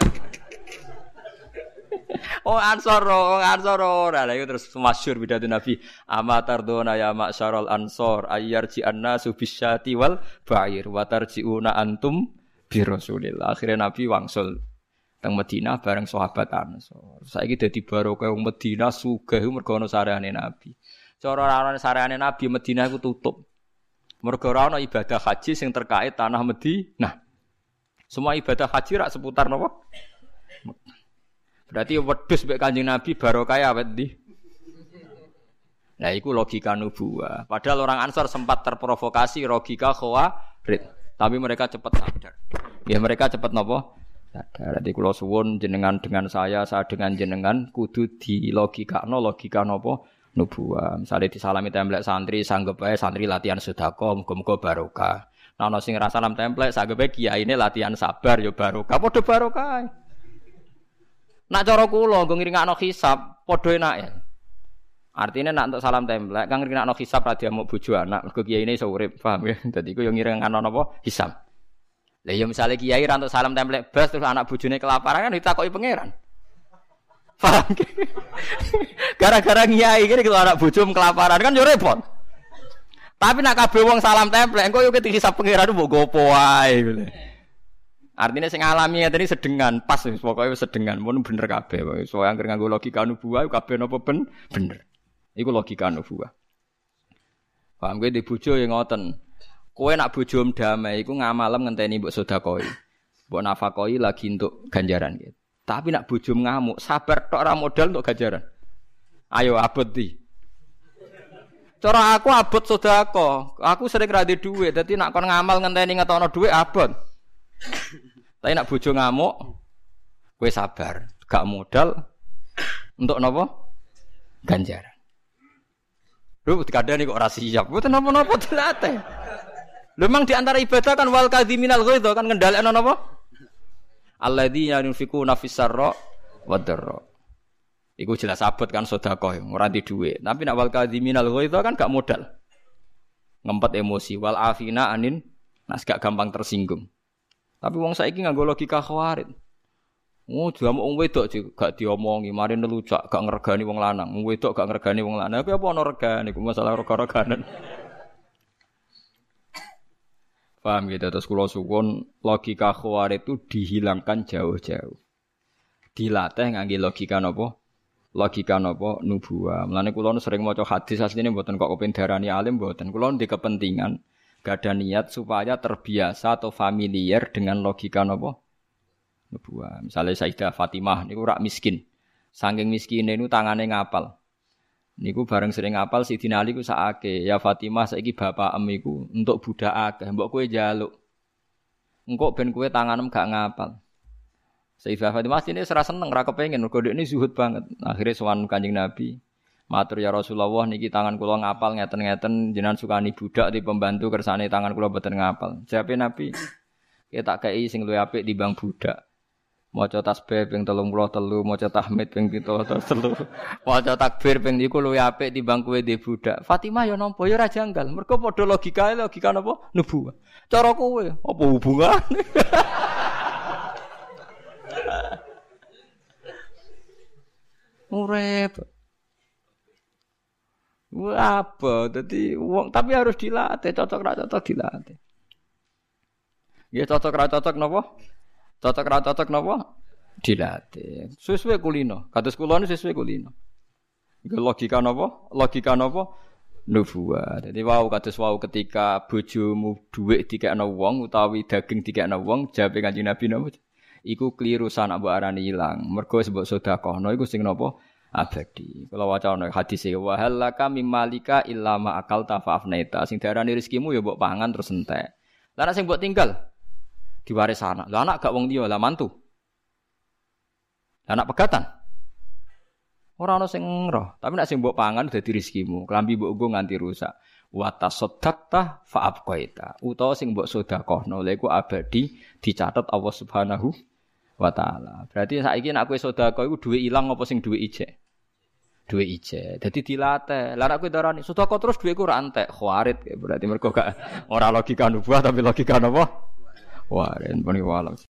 Oh Ansor, oh Ansor ora. Lah iku terus masyhur pidato Nabi. Amatardona ya ma'syaral ansor ayyarji annasu bisyati wal ba'ir wa tarjiuna antum bi Rasulillah. Akhirnya Nabi wangsul teng Madinah bareng sahabat Ansor. Saiki dadi barokah wong Madinah sugih mergo ana sareane Nabi. Cara ana sareane Nabi Madinah iku tutup. Mergo ora ana ibadah haji sing terkait tanah Madinah. Semua ibadah haji rak seputar napa? Berarti wedhus mek Kanjeng Nabi barokah awet ndi? Nah iku logika nubuwah. Padahal orang Ansor sempat terprovokasi logika khawarid, tapi mereka cepat sadar. Ya mereka cepat napa? Sadar. Dadi kula suwun jenengan dengan saya, saya dengan jenengan kudu di logikano logika napa? Nubuwah. Misale disalami templek santri, sanggep ae santri latihan sedekah, muga-muga barokah. Nah ana sing ngrasa salam templek, sanggep ae kiyaine latihan sabar ya barokah. Padha barokah. Nak cara kula nggo ngiringakno hisab, padha enake. Artine nak entuk salam templek, kang ngiringakno hisab ra diamuk bojo anak, mergo kiyaine iso urip, paham ya? Dadi iku yo ngiringakno napa? Hisab. Lah ya misale kiai ra entuk salam templek blas terus anak bojone kelaparan kan ditakoki pangeran. Paham ki? Gara-gara kiai iki kalau anak bojo kelaparan kan yo repot. Tapi nak kabeh wong salam templek, engko yo ketik hisab pangeran mbok gopo wae. Artinya sing alami ngene sedengan, pas pokoke wis sedengan, mun bener kabeh. Soale anggere nganggo logika nubuwah kabeh napa ben bener. Iku logika nubuwah. Paham kowe di bojo ya ngoten. Kowe nak bojom damai iku ngamalem ngenteni mbok sedekah. Mbok nafakoi lagi untuk ganjaran gitu. Tapi nak bojom ngamuk, sabar tok ora modal untuk ganjaran. Ayo abot di. Cara aku abot sedekah. Aku sering ra duwe dhuwit, dadi nak kon ngamal ngenteni ngetokno dhuwit abot. Tapi nak bojo ngamuk, kowe sabar, gak modal untuk napa? Ganjaran. Lho kadang kok ora siap, mboten napa-napa dilatih. Lho memang di antara ibadah kan wal kadhiminal ghaidha kan ngendhalekno napa? Alladzina yunfiquna fis-sarra wad-dharra. Iku jelas abot kan sedekah, ora di dhuwit. Tapi nak wal kadhiminal ghaidha kan gak modal. Ngempet emosi wal afina anin nas gak gampang tersinggung. Tapi wong saiki nganggo logika khawarit. Oh, jamu wong wedok gak diomongi, mari nelucak gak ngregani wong lanang. Wong wedok gak ngregani wong lanang. Tapi apa ana regane iku masalah rega-reganan. Paham gitu terus kula suwun logika khawarit itu dihilangkan jauh-jauh. Dilatih ngangge logika napa? Logika napa nubuwah. Mulane kula sering maca hadis asline mboten kok kepen darani alim mboten. Kula ndek kepentingan gak ada niat supaya terbiasa atau familiar dengan logika napa? Nubuwah. Misalnya Sayyidah Fatimah niku rak miskin. Saking miskine niku tangane ngapal. Niku bareng sering ngapal Sidina Ali ku sakake. Ya Fatimah saiki bapakem iku entuk budak akeh, mbok kowe njaluk. Engko ben kowe tanganem gak ngapal. Sayyidah Fatimah sine ora seneng, ora kepengin mergo dekne zuhud banget. Akhire sowan Kanjeng Nabi. Matur ya Rasulullah niki tangan kula ngapal ngeten-ngeten jenengan sukani budak di pembantu kersane tangan kula boten ngapal. Jawabe Nabi, "Ki tak kei sing luwih apik timbang budak. Maca tasbih ping telung puluh telu, maca tahmid ping pitung puluh telu, maca takbir ping niku luwih apik timbang kowe di budak." Fatimah ya nampa ya ora janggal. Mergo padha logikae logika napa? Nubuwah. Cara kowe apa hubungane? Urip. Wah, apa? Jadi wong tapi harus dilatih, cocok ra cocok dilatih. Ya cocok ra cocok napa? Cocok ra cocok napa? Dilatih. Sesuai kulino. Kados kula niku sesuai kulino. Iku logika napa? Logika napa? Nubuwah. Dadi wau kados wau ketika bojomu dhuwit dikekno wong utawi daging dikekno wong, jawabe Kanjeng Nabi napa? Iku kliru sanak mbok arani ilang. Mergo sebab sedekahno iku sing napa? Abadi. Kalau waca ana hadis e wa halaka mimmalika illa ma akalta fa afnaita. Sing diarani rezekimu ya mbok pangan terus entek. Lah nek sing mbok tinggal diwaris anak. Lah anak gak wong liya, lah mantu. Lah anak pegatan. Ora ana sing ngroh, tapi nek sing mbok pangan dadi rezekimu. Klambi mbok nggo nganti rusak. Wa tasaddaqta fa abqaita. Utawa sing mbok sedekahno lha iku abadi dicatet Allah Subhanahu wa taala. Berarti saiki nek kowe sedekah iku duwe ilang apa sing duwe ijek? Duwe ije. Dadi dilatih. Lah nek kowe darani sedekah terus duweku ora entek, khawarit berarti mergo gak ora logika nubuwah tapi logika napa? Warin pun walam.